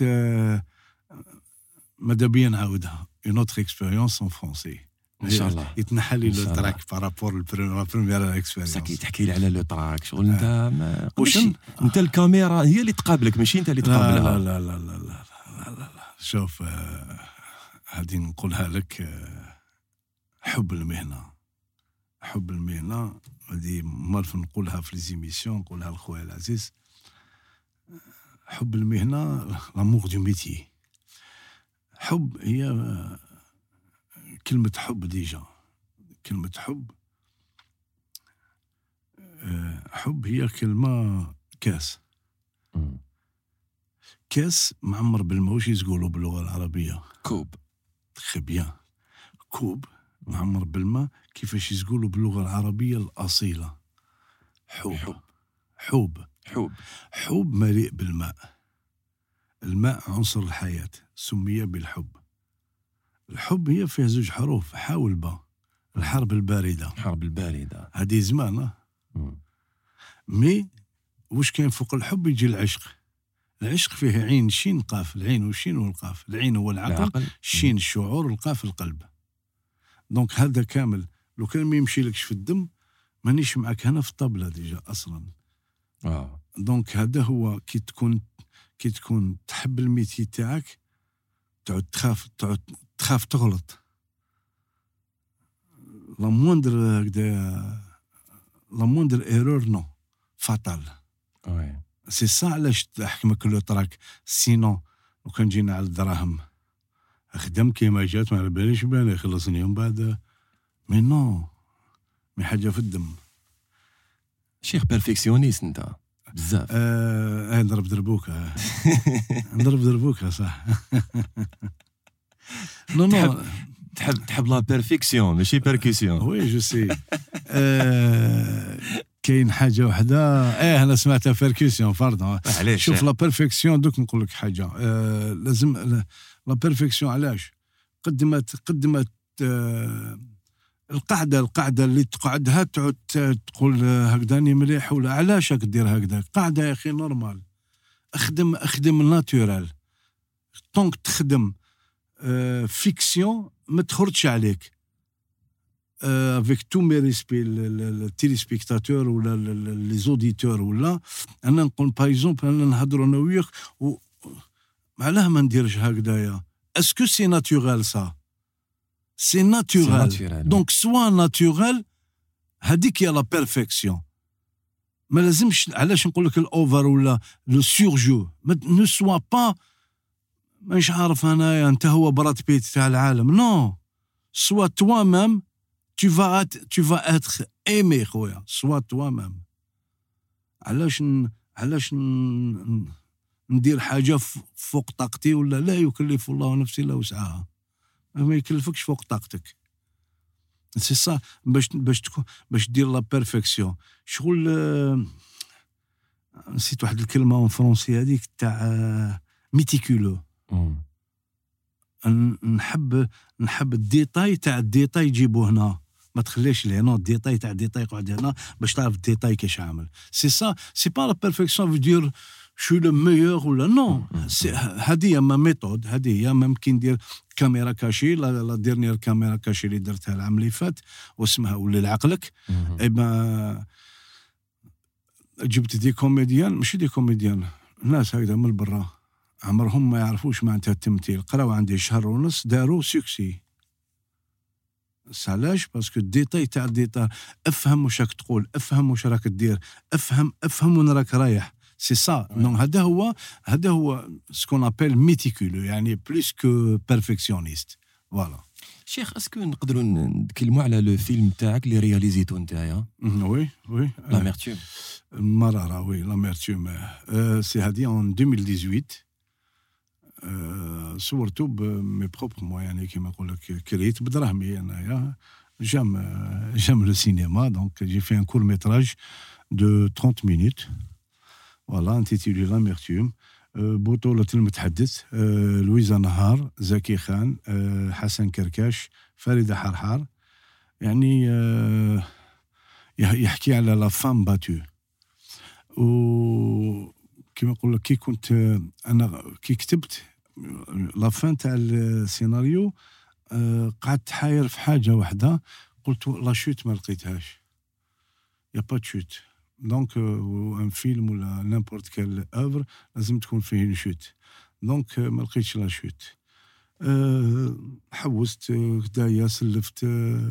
ماذا بيا نعاودها، اون اوتر اكسبيريونس ان فرونسي ان شاء الله. يتنحى لي لو تراك بارابور البريمير اكسبيريونس. ساكي تحكي لي على لو تراك شغل انت انت الكاميرا هي اللي تقابلك ماشي انت اللي تقابلها. لا لا لا لا لا لا, لا. شوف هذه نقولها لك، حب المهنه هذه مالف نقولها في ليزيميسيون، نقولها لخويا العزيز. حب المهنه لامور دو ميتي. حب هي كلمة حب ديجا، كلمة حب هي كلمة كاس معمر بالماء. واش يقولوا باللغة العربية؟ كوب. تخي بيان. كوب معمر بالماء. كيفاش يقولوا باللغة العربية الأصيلة؟ حوب مليء بالماء. الماء عنصر الحياة، سمي بالحب. الحب هي فيه 2 حروف، حا والباء. الحرب الباردة هذه زمان. مي واش كاين فوق الحب؟ يجي العشق فيه عين شين قاف، العين والشين والقاف. العين هو العقل، الشين الشعور، والقاف القلب. دونك هذا كامل لو كان ما يمشي لكش في الدم مانيش معك هنا في الطبلة ديجا اصلا. دونك هذا هو كي تكون تحب الميتي تاعك تعود تخاف تغلط. لا موندر ايرور نو فاتال. سي سا علاش تحكمك لو تراك. سينو لو كان جينا على الدراهم خدم كيما جات ما على باليش بان يخلصني من بعد. مي نو مي حاجه في الدم. شيخ بيرفكسيونيست انت بزاف. نضرب دربوكه صح. نو تحب لا بيرفكسيون ماشي بيركسيون. وي جو سي. كاين حاجه وحده انا سمعتها بيركسيون باردون. شوف لا بيرفكسيون دوك نقول لك حاجه. لازم لا بيرفكسيون علاش قدمت القعده اللي تقعدها تعود تقول هكذاني مليح ولا علاش راك دير هكذا. قاعده يا اخي نورمال، اخدم ناتورال. طونك تخدم فيكسيون ما تخرجش عليك. افيك تو مي ريسبي التيليسبيكتاتور ولا لي زوديتور، ولا انا نقول باغ اكزومبل انا نهضروا انا وياك علاه ما نديرش هكذايا. اسكو سي ناتورال سا؟ سي ناتورال. دونك سوا ناتورال، هذيك هي لا بيرفيكسيون. ما لازمش علاش نقول لك الاوفر ولا لو سورجو. نو سوا با مش عارف انايا انت هو براد بيت تاع العالم. نو، سوا توا ميم tu vas être aimé خويا. سوا توا ميم. علاش ندير حاجه فوق طاقتي؟ ولا لا يكلف الله نفسا الا وسعها. ما يكلفكش فوق طاقتك. سي صا باش دير لا بيرفيكسيون. شغل نسيت واحد الكلمه اون فرونسي هذيك تاع ميتيكولو. نحب الديتاي تاع الديتاي يجيبوه هنا، ما تخليش لهنا الديتاي تاع الديتاي يقعد هنا باش تعرف الديتاي كيش عامل. سي سا، سي با لا بيرفيكسيون في دير شو لو ميور ولا نو. هذه ما ميثود، هذه ممكن ندير كاميرا كاشي. لا ديرنيير كاميرا كاشي اللي درتها العام اللي فات واسمها ولي لعقلك. اي با جبت دي كوميديان، ماشي دي كوميديان، ناس هكذا من برا عمرهم ما يعرفوش معناتها التمثيل. قراو عندي شهر ونص داروا سوكسي. علاش؟ باسكو الديتاي تاع الديتاي، افهم واش راك تقول، افهم واش راك دير، افهم وين راك رايح. سي سا. دونك هذا هو سكون ابل ميتيكولو، يعني بلوس كو بيرفكسيونيست. فوالا. شيخ، اسكو نقدروا نتكلموا على لو فيلم تاعك اللي رياليزيتو نتايا؟ وي لاميرتوم. مرارة. وي لاميرتوم. سي هادي en 2018. صورته بمي بروبر مو، يعني كيما نقول لك كريت بدراهمي انايا. جام لو سينما. دونك جي في ان كور ميتراج دو 30 مينوت. فوالا انتيتولي لاميرتوم. بطولة المتحدث لويزا نهار، زكي خان، حسن كركاش، فريدة حرحار. يعني يحكي على لا فام باتو. و كيما نقول لك كي كنت انا كي كتبت لا فان تاع السيناريو، قعدت حاير في حاجه واحده. قلت لا شوت ما لقيتهاش، يا با شوت. دونك ان فيلم ولا نيمبورت كال اوفر لازم تكون فيه نشوت. دونك ما لقيتش لا شوت. حوست كدايا، سلفت،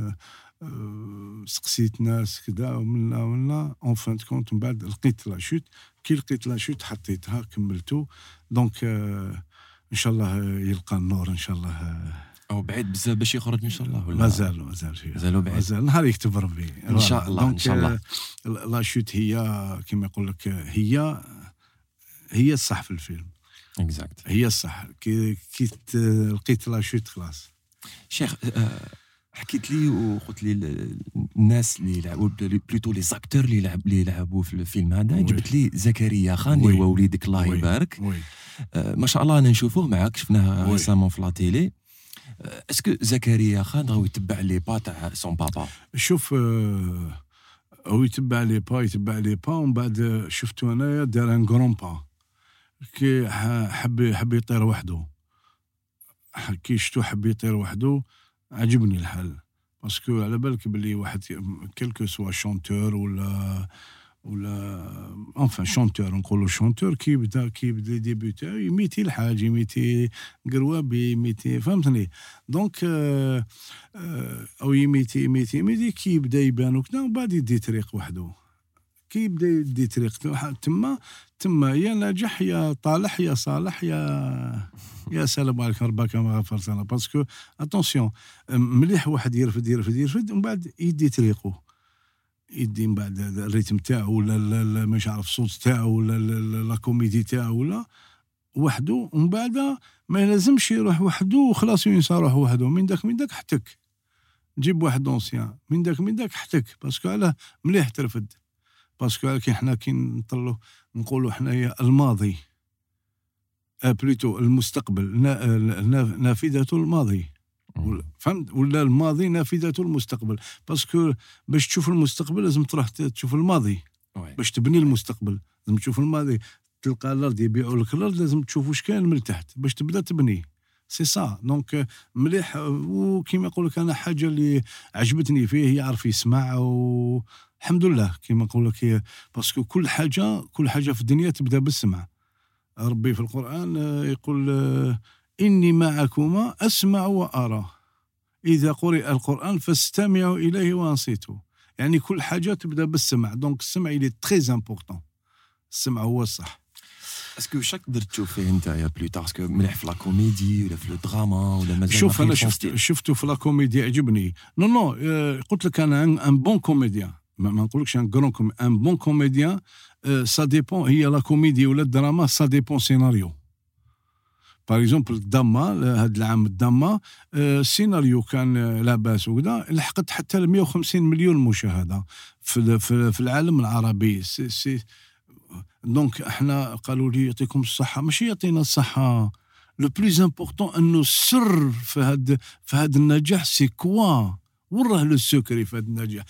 سقسيت ناس كذا ومنا اون فان كونت. من بعد لقيت لا شوت. كي لقيت لا شوت حطيتها كملتو. دونك ان شاء الله يلقى النور ان شاء الله. او بعيد بزاف باش يخرج ان شاء الله ولا مازال بعيد؟ مازال نهار يكتب ربي ان شاء الله. ان شاء الله لا شوت هي كما يقول لك هي الصح في الفيلم. اكزاكت، هي الصح. كي لقيت لا شوت خلاص. شيخ، حكيت لي وقلت لي الناس اللي لعبوا بلوتو لي زاكتور اللي لعبوا في الفيلم هذا. جبت لي زكريا خان اللي هو وليدك الله يبارك. ما شاء الله انا نشوفوه معاك، شفناه ريسامون في لا تيلي. اسكو زكريا خان راهو يتبع لي با تاع سون بابا؟ شوف، هو يتبع لي با ومن بعد شفتو انايا دار ان غرون با. كي حب يطير وحده، كي شفتو حب يطير وحده عجبني الحال. باسكو على بالك بلي واحد كلكو سوا شونتور ولا انفان شونتور، نقولوا شونتور، كي بدا ديبي تاعو يميتي الحاج، يميتي قروابي، يميتي، فهمتني. دونك او يميتي كي يبدا يبان وكذا، ومن بعد يدي طريق وحده. كي يبدا يدي طريق تما يا ناجح يا طالح يا صالح يا سلام عليك ربك ما غفرت لنا. باسكو اتونسيون، مليح واحد يرفد ومن بعد يدي طريقه، يدي من بعد الريتم تاعو ولا مش عارف الصوت تاعو ولا لا كوميدي تاعو ولا وحده. ومن بعد ما لازمش يروح وحده وخلاص ينسى روح وحده. من داك حتك جيب واحد دونسيان من داك حتك. باسكو علاه مليح ترفد. باسكو حنا كي نطلو نقولوا حنايا الماضي بلوتو المستقبل، نافذة الماضي. فهمت ولا الماضي نافذة المستقبل باسكو باش تشوف المستقبل لازم تروح تشوف الماضي باش تبني المستقبل لازم تشوف الماضي تلقى الارض يبيعوا لك الارض لازم تشوف واش كاين من تحت باش تبدا تبني سي سا دونك مليح وكيما يقول لك انا حاجه اللي عجبتني فيه يعرف يسمع والحمد لله كيما نقول لك باسكو كل حاجه في الدنيا تبدا بالسمع ربي في القرآن يقول إني معكما أسمع وأرى إذا قرئ القرآن فاستمعوا إليه وانصتوا يعني كل حاجة تبدأ بالسمع دونك السمع إلي تريز امبورطون السمع هو الصح اسكو شاك درت تشوف فيه انت يا بلوتار اسكو مليح في لا كوميدي ولا في الدراما ولا مازال شوف أنا شفته في لا كوميدي عجبني نو قلت لك أنا ان بون كوميديان ما نقولكش ان غران ان بون كوميديان ça dépend هي لا كوميدي ولا الدراما ça dépend سيناريو باغ اكزومبل الدراما هذا العام الدراما السيناريو كان لاباس وكذا لحقت حتى ل 150 مليون مشاهده في العالم العربي سي دونك احنا قالوا لي يعطيكم الصحه ماشي يعطينا الصحه لو بلوز امبورطون انه السر في هذا النجاح سي كوا وراه لو سكري في هذا النجاح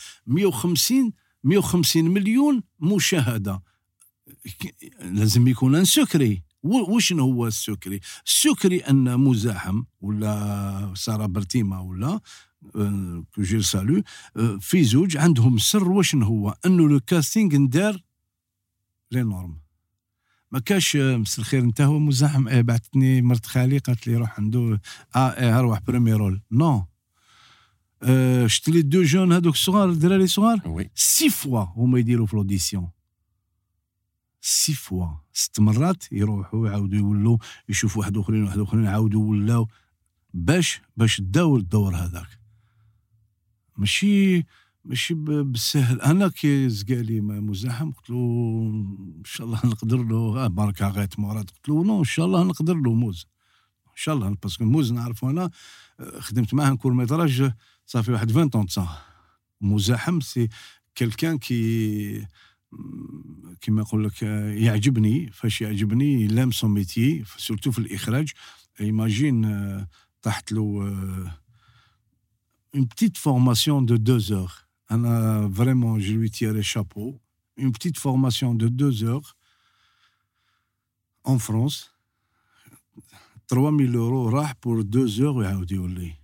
150 مليون مشاهدة لازم يكون ان سكري وش هو السكري السكري أن مزاحم ولا سارة برتيما ولا كوجير سالو في زوج عندهم سر وش هو أنه لو كاستينغ ندار لي نورم ما كاش مسا الخير انت هو مزاحم بعثتني مرت خالي قالت لي روح عنده روح بريمي رول نو شفت لي دو جون هذوك الصغار الدراري صغار 6 فوا هما يديروا في لوديسيون 6 فوا 6 مرات يروحوا يعاودوا يولوا يشوفوا واحد اخرين يعاودوا ولاو باش داو الدور هذاك ماشي بالسهل انا كي زقالي مزاحم قلت له ان شاء الله نقدر له بركه غيت مرات قلت له نو ان شاء الله نقدر له موز ان شاء الله باسكو موز نعرفه انا خدمت معاه كور ميتراج صافي واحد 20 طون صح مزاحم سي كلكان كيما نقول لك يعجبني فاش يعجبني لام سون ميتي سورتو في الاخراج ايماجين طاحت له une petite formation de 2 heures انا vraiment je lui tire chapeau une petite formation de 2 heures en France 3000 € راح بور 2 heures ويعاود يولي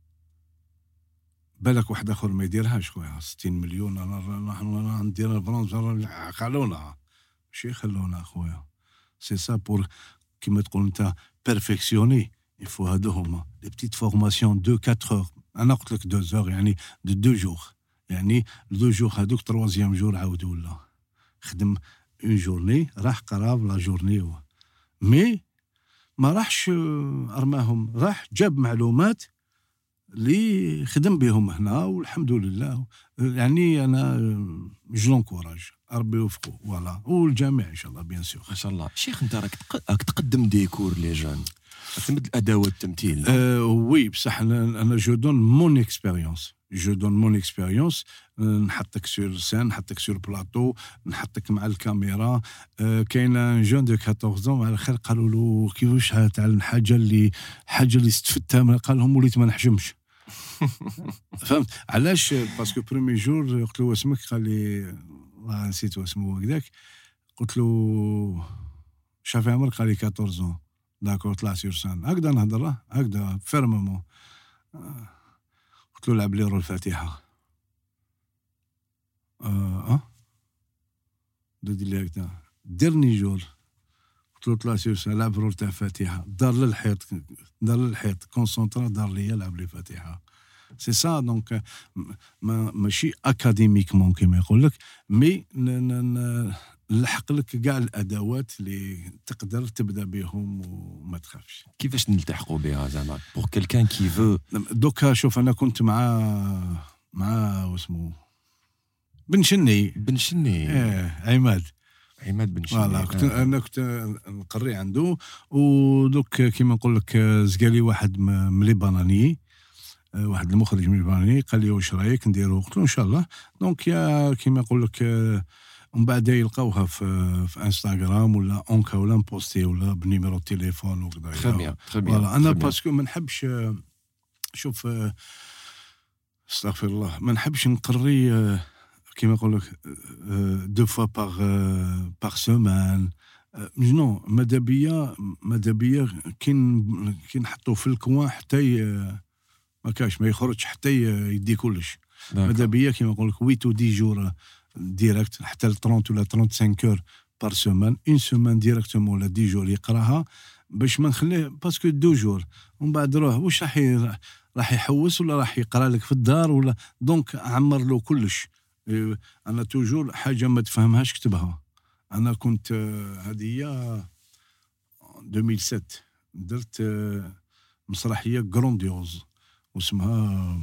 بالك واحد اخر ما يديرهاش خويا 60 مليون انا ندير الفرنسا قالونا ماشي خلونا خويا سي سا بور كيما تقول انت بيرفكسيوني يفو هادو هما لي بتيت فورماسيون 2-4 heures انا قلت لك 2 heures يعني دو 2 jours يعني 2 jours هذوك 3 جور عاود ولا خدم اون جورني راح قراب لا جورني مي ما راحش ارماهم راح جاب معلومات اللي خدم بهم هنا والحمد لله يعني انا جلون كوراج ربي يوفقه فوالا والجميع ان شاء الله بيان سور ما شاء الله شيخ انت راك تقدم ديكور لي جون تمد الادوات التمثيل وي بصح انا جو دون مون اكسبيريونس نحطك سور سين نحطك سور بلاطو نحطك مع الكاميرا كاين ان جون دو 14 على خير قالوا له كيفاش تعلم حاجه اللي استفدتها قال لهم وليت ما نحجمش فهمت علاش باسكو بريمي جور قلت له واسمك قال لي نسيت اسمه هكذاك قلت له شافي عمرك قال لي 14 داكور طلع سور سان هكذا نهضر هكذا فيرمومون قلت له لعب لي رول الفاتحه دير لي هكذا ديرني جور قلت له طلع سور سان لعب رول تاع الفاتحه دار للحيط كونسونطرا دار لي لعب لي فاتحه سي سا دونك ماشي اكاديميكمون كيما يقول لك مي نلحق لك كاع الادوات اللي تقدر تبدا بهم وما تخافش كيفاش نلتحقوا بها زعما بور كيلكان كي فو دوكا شوف انا كنت مع واسمو بن شني عماد بن شني انا كنت نقري عنده ودوك كيما نقول لك زقالي واحد من ليباناني واحد المخرج من ليباناني قال لي واش رايك نديرو قلت له ان شاء الله دونك يا كيما نقول لك ومن بعد يلقاوها في انستغرام ولا اونكا ولا نبوستي ولا بنيميرو تليفون وكذا تري بيان انا باسكو ما نحبش شوف استغفر الله، ما نحبش نقري كيما يقول لك دو فوا باغ سومان. نو، ماذا بيا كي نحطو في الكوان حتى ما كاش ما يخرجش حتى يدي كلش. ماذا بيا كيما نقول لك 8 و 10 جور ديريكت حتى ل 30 ولا 35 اور بار سومان. اون سومان ديريكتومون ولا 10 جور يقراها باش ما نخليه، باسكو 2 جور ومن بعد روح واش راح يحوس ولا راح يقرا لك في الدار ولا. دونك عمر له كلش. انا توجور حاجه ما تفهمهاش كتبها. انا كنت هذه 2007 درت مسرحيه غرونديوز واسمها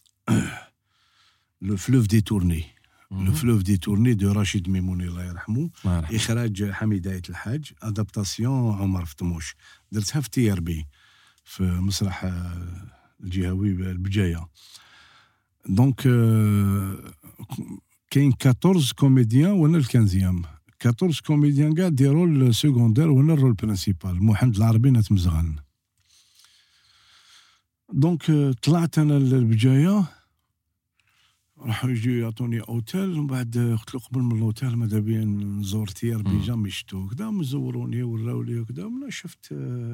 لو فلوف دي تورني. لو فلوف دي تورني دو رشيد ميموني الله يرحمه، اخراج حميد عيط الحاج، ادابتاسيون عمر فتموش. درتها في تي ار بي في مسرح الجهوي البجايه. دونك كاين 14 كوميديان وانا الكنزيام. 14 كوميديان كاع دي رول سيكوندير وانا الرول برينسيبال. محمد العربي نتمزغن. دونك طلعت انا للبجايه، راحوا يجيو يعطوني اوتيل، ومن بعد قلت له قبل من الاوتيل ماذا بيا نزور تيار بي جامي شفتو كذا، مزوروني وراولي وكذا. ومن شفت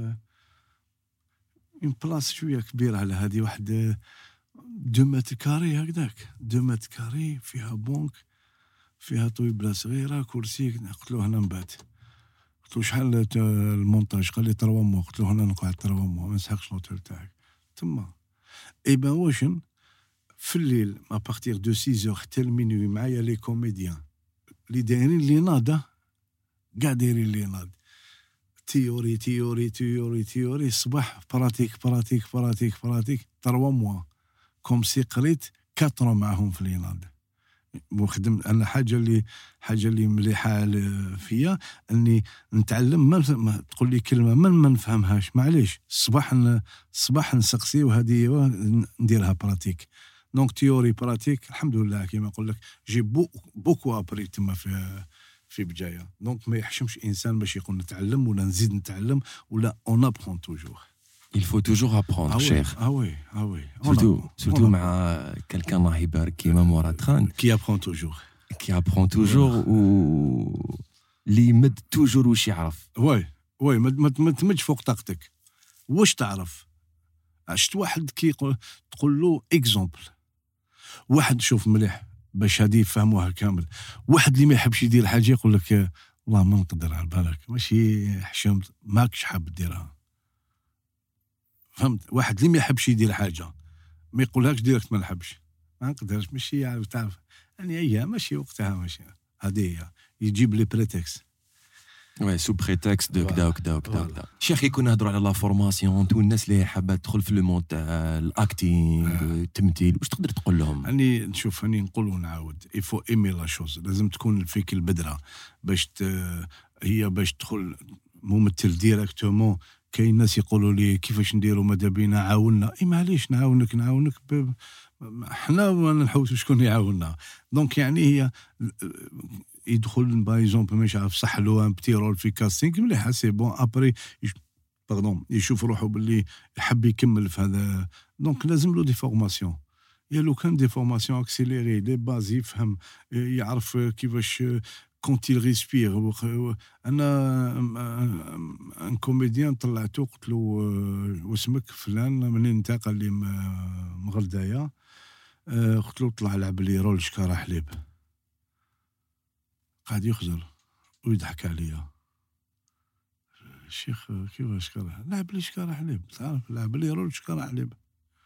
اون بلاص شويه كبيره على هذه، واحد 2 متر كاري هكذاك، 2 متر كاري فيها بونك، فيها طويبله صغيره، كرسي. قلت له هنا نبات. قلت له شحال المونتاج؟ قال لي 3 موا. قلت له هنا نقعد 3 موا، ما نسحقش الاوتيل تاعك تما. اي بان واشن في الليل ما بارتير دو 6 حتى المينوي معايا لي كوميديان اللي دايرين لي ناضه، كاع دايرين لي ناض. تيوري تيوري تيوري تيوري، الصباح براتيك براتيك براتيك براتيك 3 موا كوم سي قريت 4 معاهم في لي ناض. وخدم انا حاجه اللي مليحه فيا اني نتعلم. ما تقول لي كلمه ما نفهمهاش معليش، الصباح نسقسي وهذه نديرها براتيك. دونك تيوري براتيك الحمد لله كيما نقول لك جي بوكو ابري تما في بجايه. دونك ما يحشمش انسان باش يقول نتعلم ولا نزيد نتعلم ولا اون ابرون توجور. Il faut toujours apprendre, cher. Ah oui. Surtout مع quelqu'un الله يبارك كيما مراد خان. Qui apprend toujours. Qui apprend toujours و اللي يمد toujours واش يعرف. وي ما تمدش فوق طاقتك. واش تعرف؟ عشت واحد كي تقول له اكزومبل، واحد شوف مليح باش هادي يفهموها كامل. واحد اللي ما يحبش يدير حاجه يقول لك والله ما نقدر على بالك، ماشي حشمت ماكش حاب ديرها. فهمت؟ واحد اللي ما يحبش يدير حاجه ما يقولهاش ديريكت ما نحبش، ما نقدرش، ماشي يعرف تعرف يعني هي ماشي وقتها، ماشي هذه هي يجيب لي بريتكست. وي سو بريتكست دو كدا وكدا وكدا. شيخ كنا نهضروا على لا فورماسيون، تو الناس اللي حابه تدخل في لو مود تاع الاكتينغ التمثيل، واش تقدر تقول لهم؟ اني نشوف اني نقول ونعاود يفو ايمي لا شوز. لازم تكون فيك البدره باش هي باش تدخل ممثل ديريكتومون. كاين ناس يقولوا لي كيفاش نديروا ماذا بينا عاوننا. اي معليش نعاونك حنا ما نحوسوا شكون يعاوننا. دونك يعني هي يدخل باي اكزومبل مش عارف صح له ان بتي رول في كاستينغ مليح سي بون ابري يشوف روحه باللي يحب يكمل في هذا. دونك لازم له دي فورماسيون. يا لو كان دي فورماسيون اكسيليري لي باز يفهم يعرف كيفاش كونت il respire. انا ان كوميديان طلعته قلت له واسمك فلان منين انت؟ قال لي مغردايه. قلت له طلع لعب لي رول شكاره حليب. قاعد يخزر ويضحك عليا. الشيخ كيفاش شكاره؟ لعب لي شكاره حليب، تعرف لعب لي رول شكاره حليب.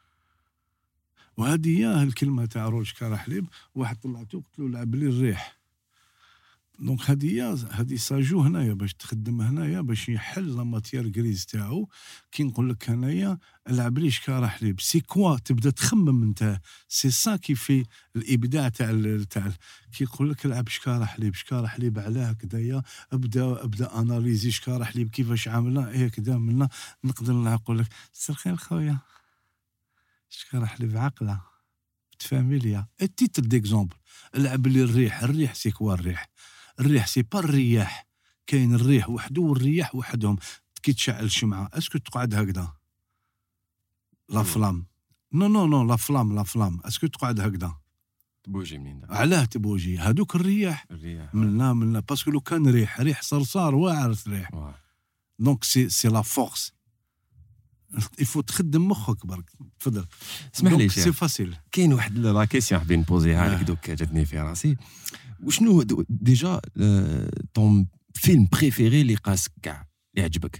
وهذه هي الكلمه تاع رول شكاره حليب. واحد طلعته قلت له لعب لي الريح. دونك هذه ساجو هنايا باش تخدم هنايا باش يحل لا ماتيير غريز تاعو. كي نقول لك هنايا العب لي شكاره حليب سي كوا، تبدا تخمم انت. سي سا كي في الابداع تاع كي يقول لك العب شكاره حليب علاه كدايا. ابدا اناليزي شكاره حليب كيفاش عاملنا هكذا منا. نقدر نقول لك سرخير خويا شكاره حليب عقله فاميليا. التيتر ديكزومبل العب لي الريح سي كوا الريح سي با الرياح. كاين الريح وحده والرياح وحدهم. كي تشعل الشمعه اسكو تقعد هكذا لا فلام نو لا فلام اسكو تقعد هكذا تبوجي منين علاه تبوجي هذوك الرياح منا باسكو لو كان ريح صرصار واعر ريح دونك سي لا فورس يفو تخدم مخك برك. تفضل اسمح لي سي فاسيل. كاين واحد لا كيسيون حابين نبوزيها لك دوك جاتني في راسي. وشنو ديجا طون فيلم بريفيري اللي قاسك كاع اللي عجبك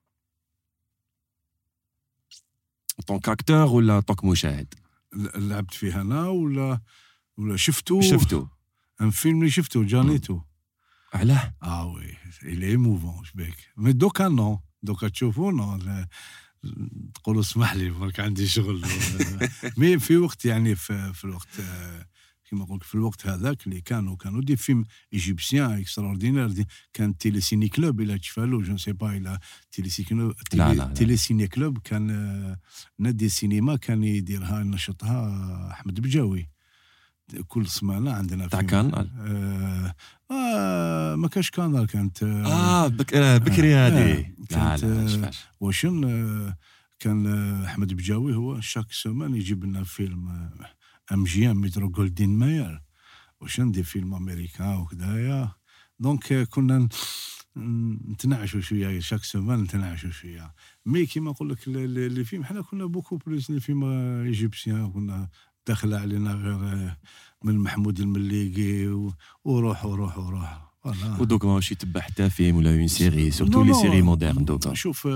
طون كاكتور ولا طوك مشاهد؟ لعبت فيه انا ولا شفتو ان فيلم اللي شفتو جانيتو. علاه وي الي موفون شبيك مي دوكا نو دوكا تشوفو نو تقولوا اسمح لي برك عندي شغل. مي في وقت يعني في الوقت كما قلت في الوقت هذاك اللي كانوا دي فيلم ايجيبسيان اكستراوردينير. كان تيلي سيني كلوب الى تشفالو جو سي با الى تيلي سيني كلوب كان نادي السينما كان يديرها نشطها احمد بجاوي كل سمانه عندنا تاع كان ما كاش كانال كانت بكري هذه كانت واشن كان احمد بجاوي هو شاك سمان يجيب لنا فيلم MGM مترو جولدين ماير وشن دي فيلم امريكان وكذايا. دونك كنا نتناعشوا شويه شاك سمان نتناعشوا شويه. مي كيما نقول لك اللي فيلم حنا كنا بوكو بلوس لي فيلم ايجيبسيان كنا داخل علينا غير من محمود المليقي وروح ودوك ماشي تبع حتى فيلم ولا اون سيري سورتو لي سيري مودرن دوك. شوف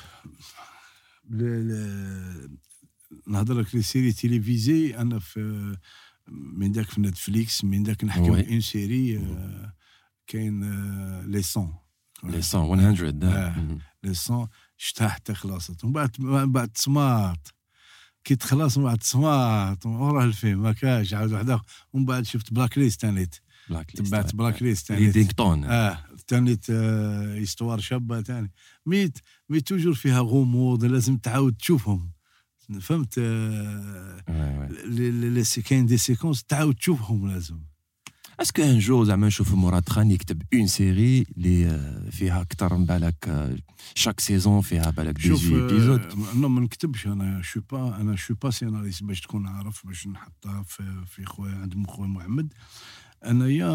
نهضر لك لي سيري تيليفيزي انا في من داك في نتفليكس من داك نحكي اون سيري كاين لي سون 100 لي سون شتها حتى خلاصت ومن بعد سمارت كي تخلص من بعد سمارت وراه الفيلم ما كاش عاود وحده. ومن بعد شفت بلاك ليست تانيت تبعت بلاك ليست تانيت دينكتون تانيت استوار شابه تاني مي توجور فيها غموض لازم تعاود تشوفهم فهمت. لي كاين دي سيكونس تعاود تشوفهم لازم. اسكو ان جو زعما نشوف مراد خان يكتب اون سيري اللي فيها اكثر من بالك شاك سيزون فيها بالك 18 ايبيزود؟ نو ما نكتبش انا شو با سيناريست باش تكون عارف باش نحطها في خويا عند خويا محمد. انا يا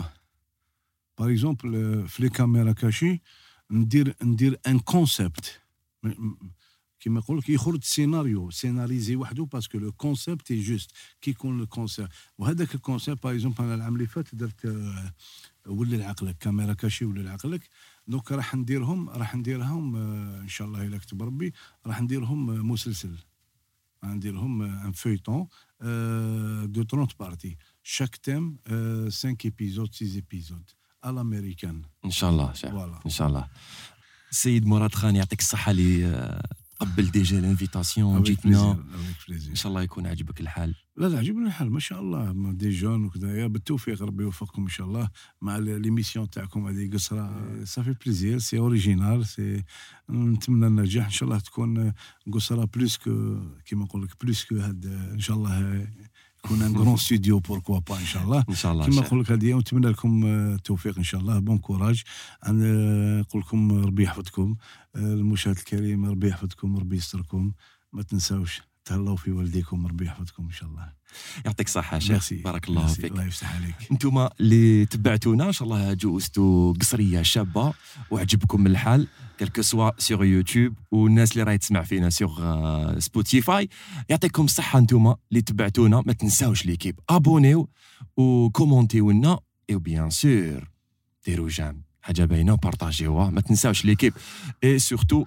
باغ اكزومبل في لي كاميرا كاشي ندير ان كونسيبت كيما يقول لك يخرج سيناريزي وحده باسكو لو كونسيبت اي جوست كي يكون لو كونسيبت. وهذاك الكونسيبت باغ اكزومبل انا العام اللي فات درت ولي العقلك كاميرا كاشي ولي العقلك. دونك راح نديرهم ان شاء الله الا كتب ربي راح نديرهم مسلسل نديرهم ان فيتون دو 30 بارتي شاك تيم 5 ايبيزود 6 ايبيزود على الامريكان ان شاء الله ان شاء الله. السيد مراد خان يعطيك الصحه اللي قبل ديجا الانفيتاسيون جيتنا ان شاء الله يكون عجبك الحال. لا عجبني الحال ما شاء الله دي جون وكذا بالتوفيق ربي يوفقكم ان شاء الله مع ليميسيون تاعكم هذه قصره صافي بليزير سي اوريجينال سي نتمنى النجاح ان شاء الله تكون قصره بلوس كيما نقول لك بلوس كو هاد ان شاء الله يكون ان غران ستوديو بوركوا با ان شاء الله كيما نقول لك هذه ونتمنى لكم التوفيق ان شاء الله بون كوراج. نقول لكم ربي يحفظكم المشاهد الكريم ربي يحفظكم ربي يستركم ما تنساوش تهلاو في والديكم ربي يحفظكم ان شاء الله. يعطيك الصحه شيخ بارك الله فيك. الله يفتح عليك. انتم اللي تبعتونا ان شاء الله جوزتوا قصريه شابه وعجبكم الحال كلكو سوا سور يوتيوب والناس اللي راهي تسمع فينا سور سبوتيفاي. يعطيكم الصحه انتم اللي تبعتونا ما تنساوش ليكيب ابونيو وكومونتيو لنا اي بيان سور ديروا جام حاجه باينه بارطاجيوها ما تنساوش ليكيب اي سورتو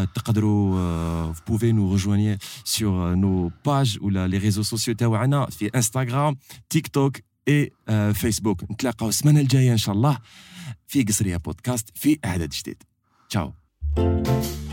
تقدروا بوفي نو ريجوانير سور نو باج ولا لي ريزو سوسيو تاعنا في انستغرام تيك توك اي فيسبوك. نتلاقاو السمانه الجايه ان شاء الله في قصريه بودكاست في عدد جديد. تشاو.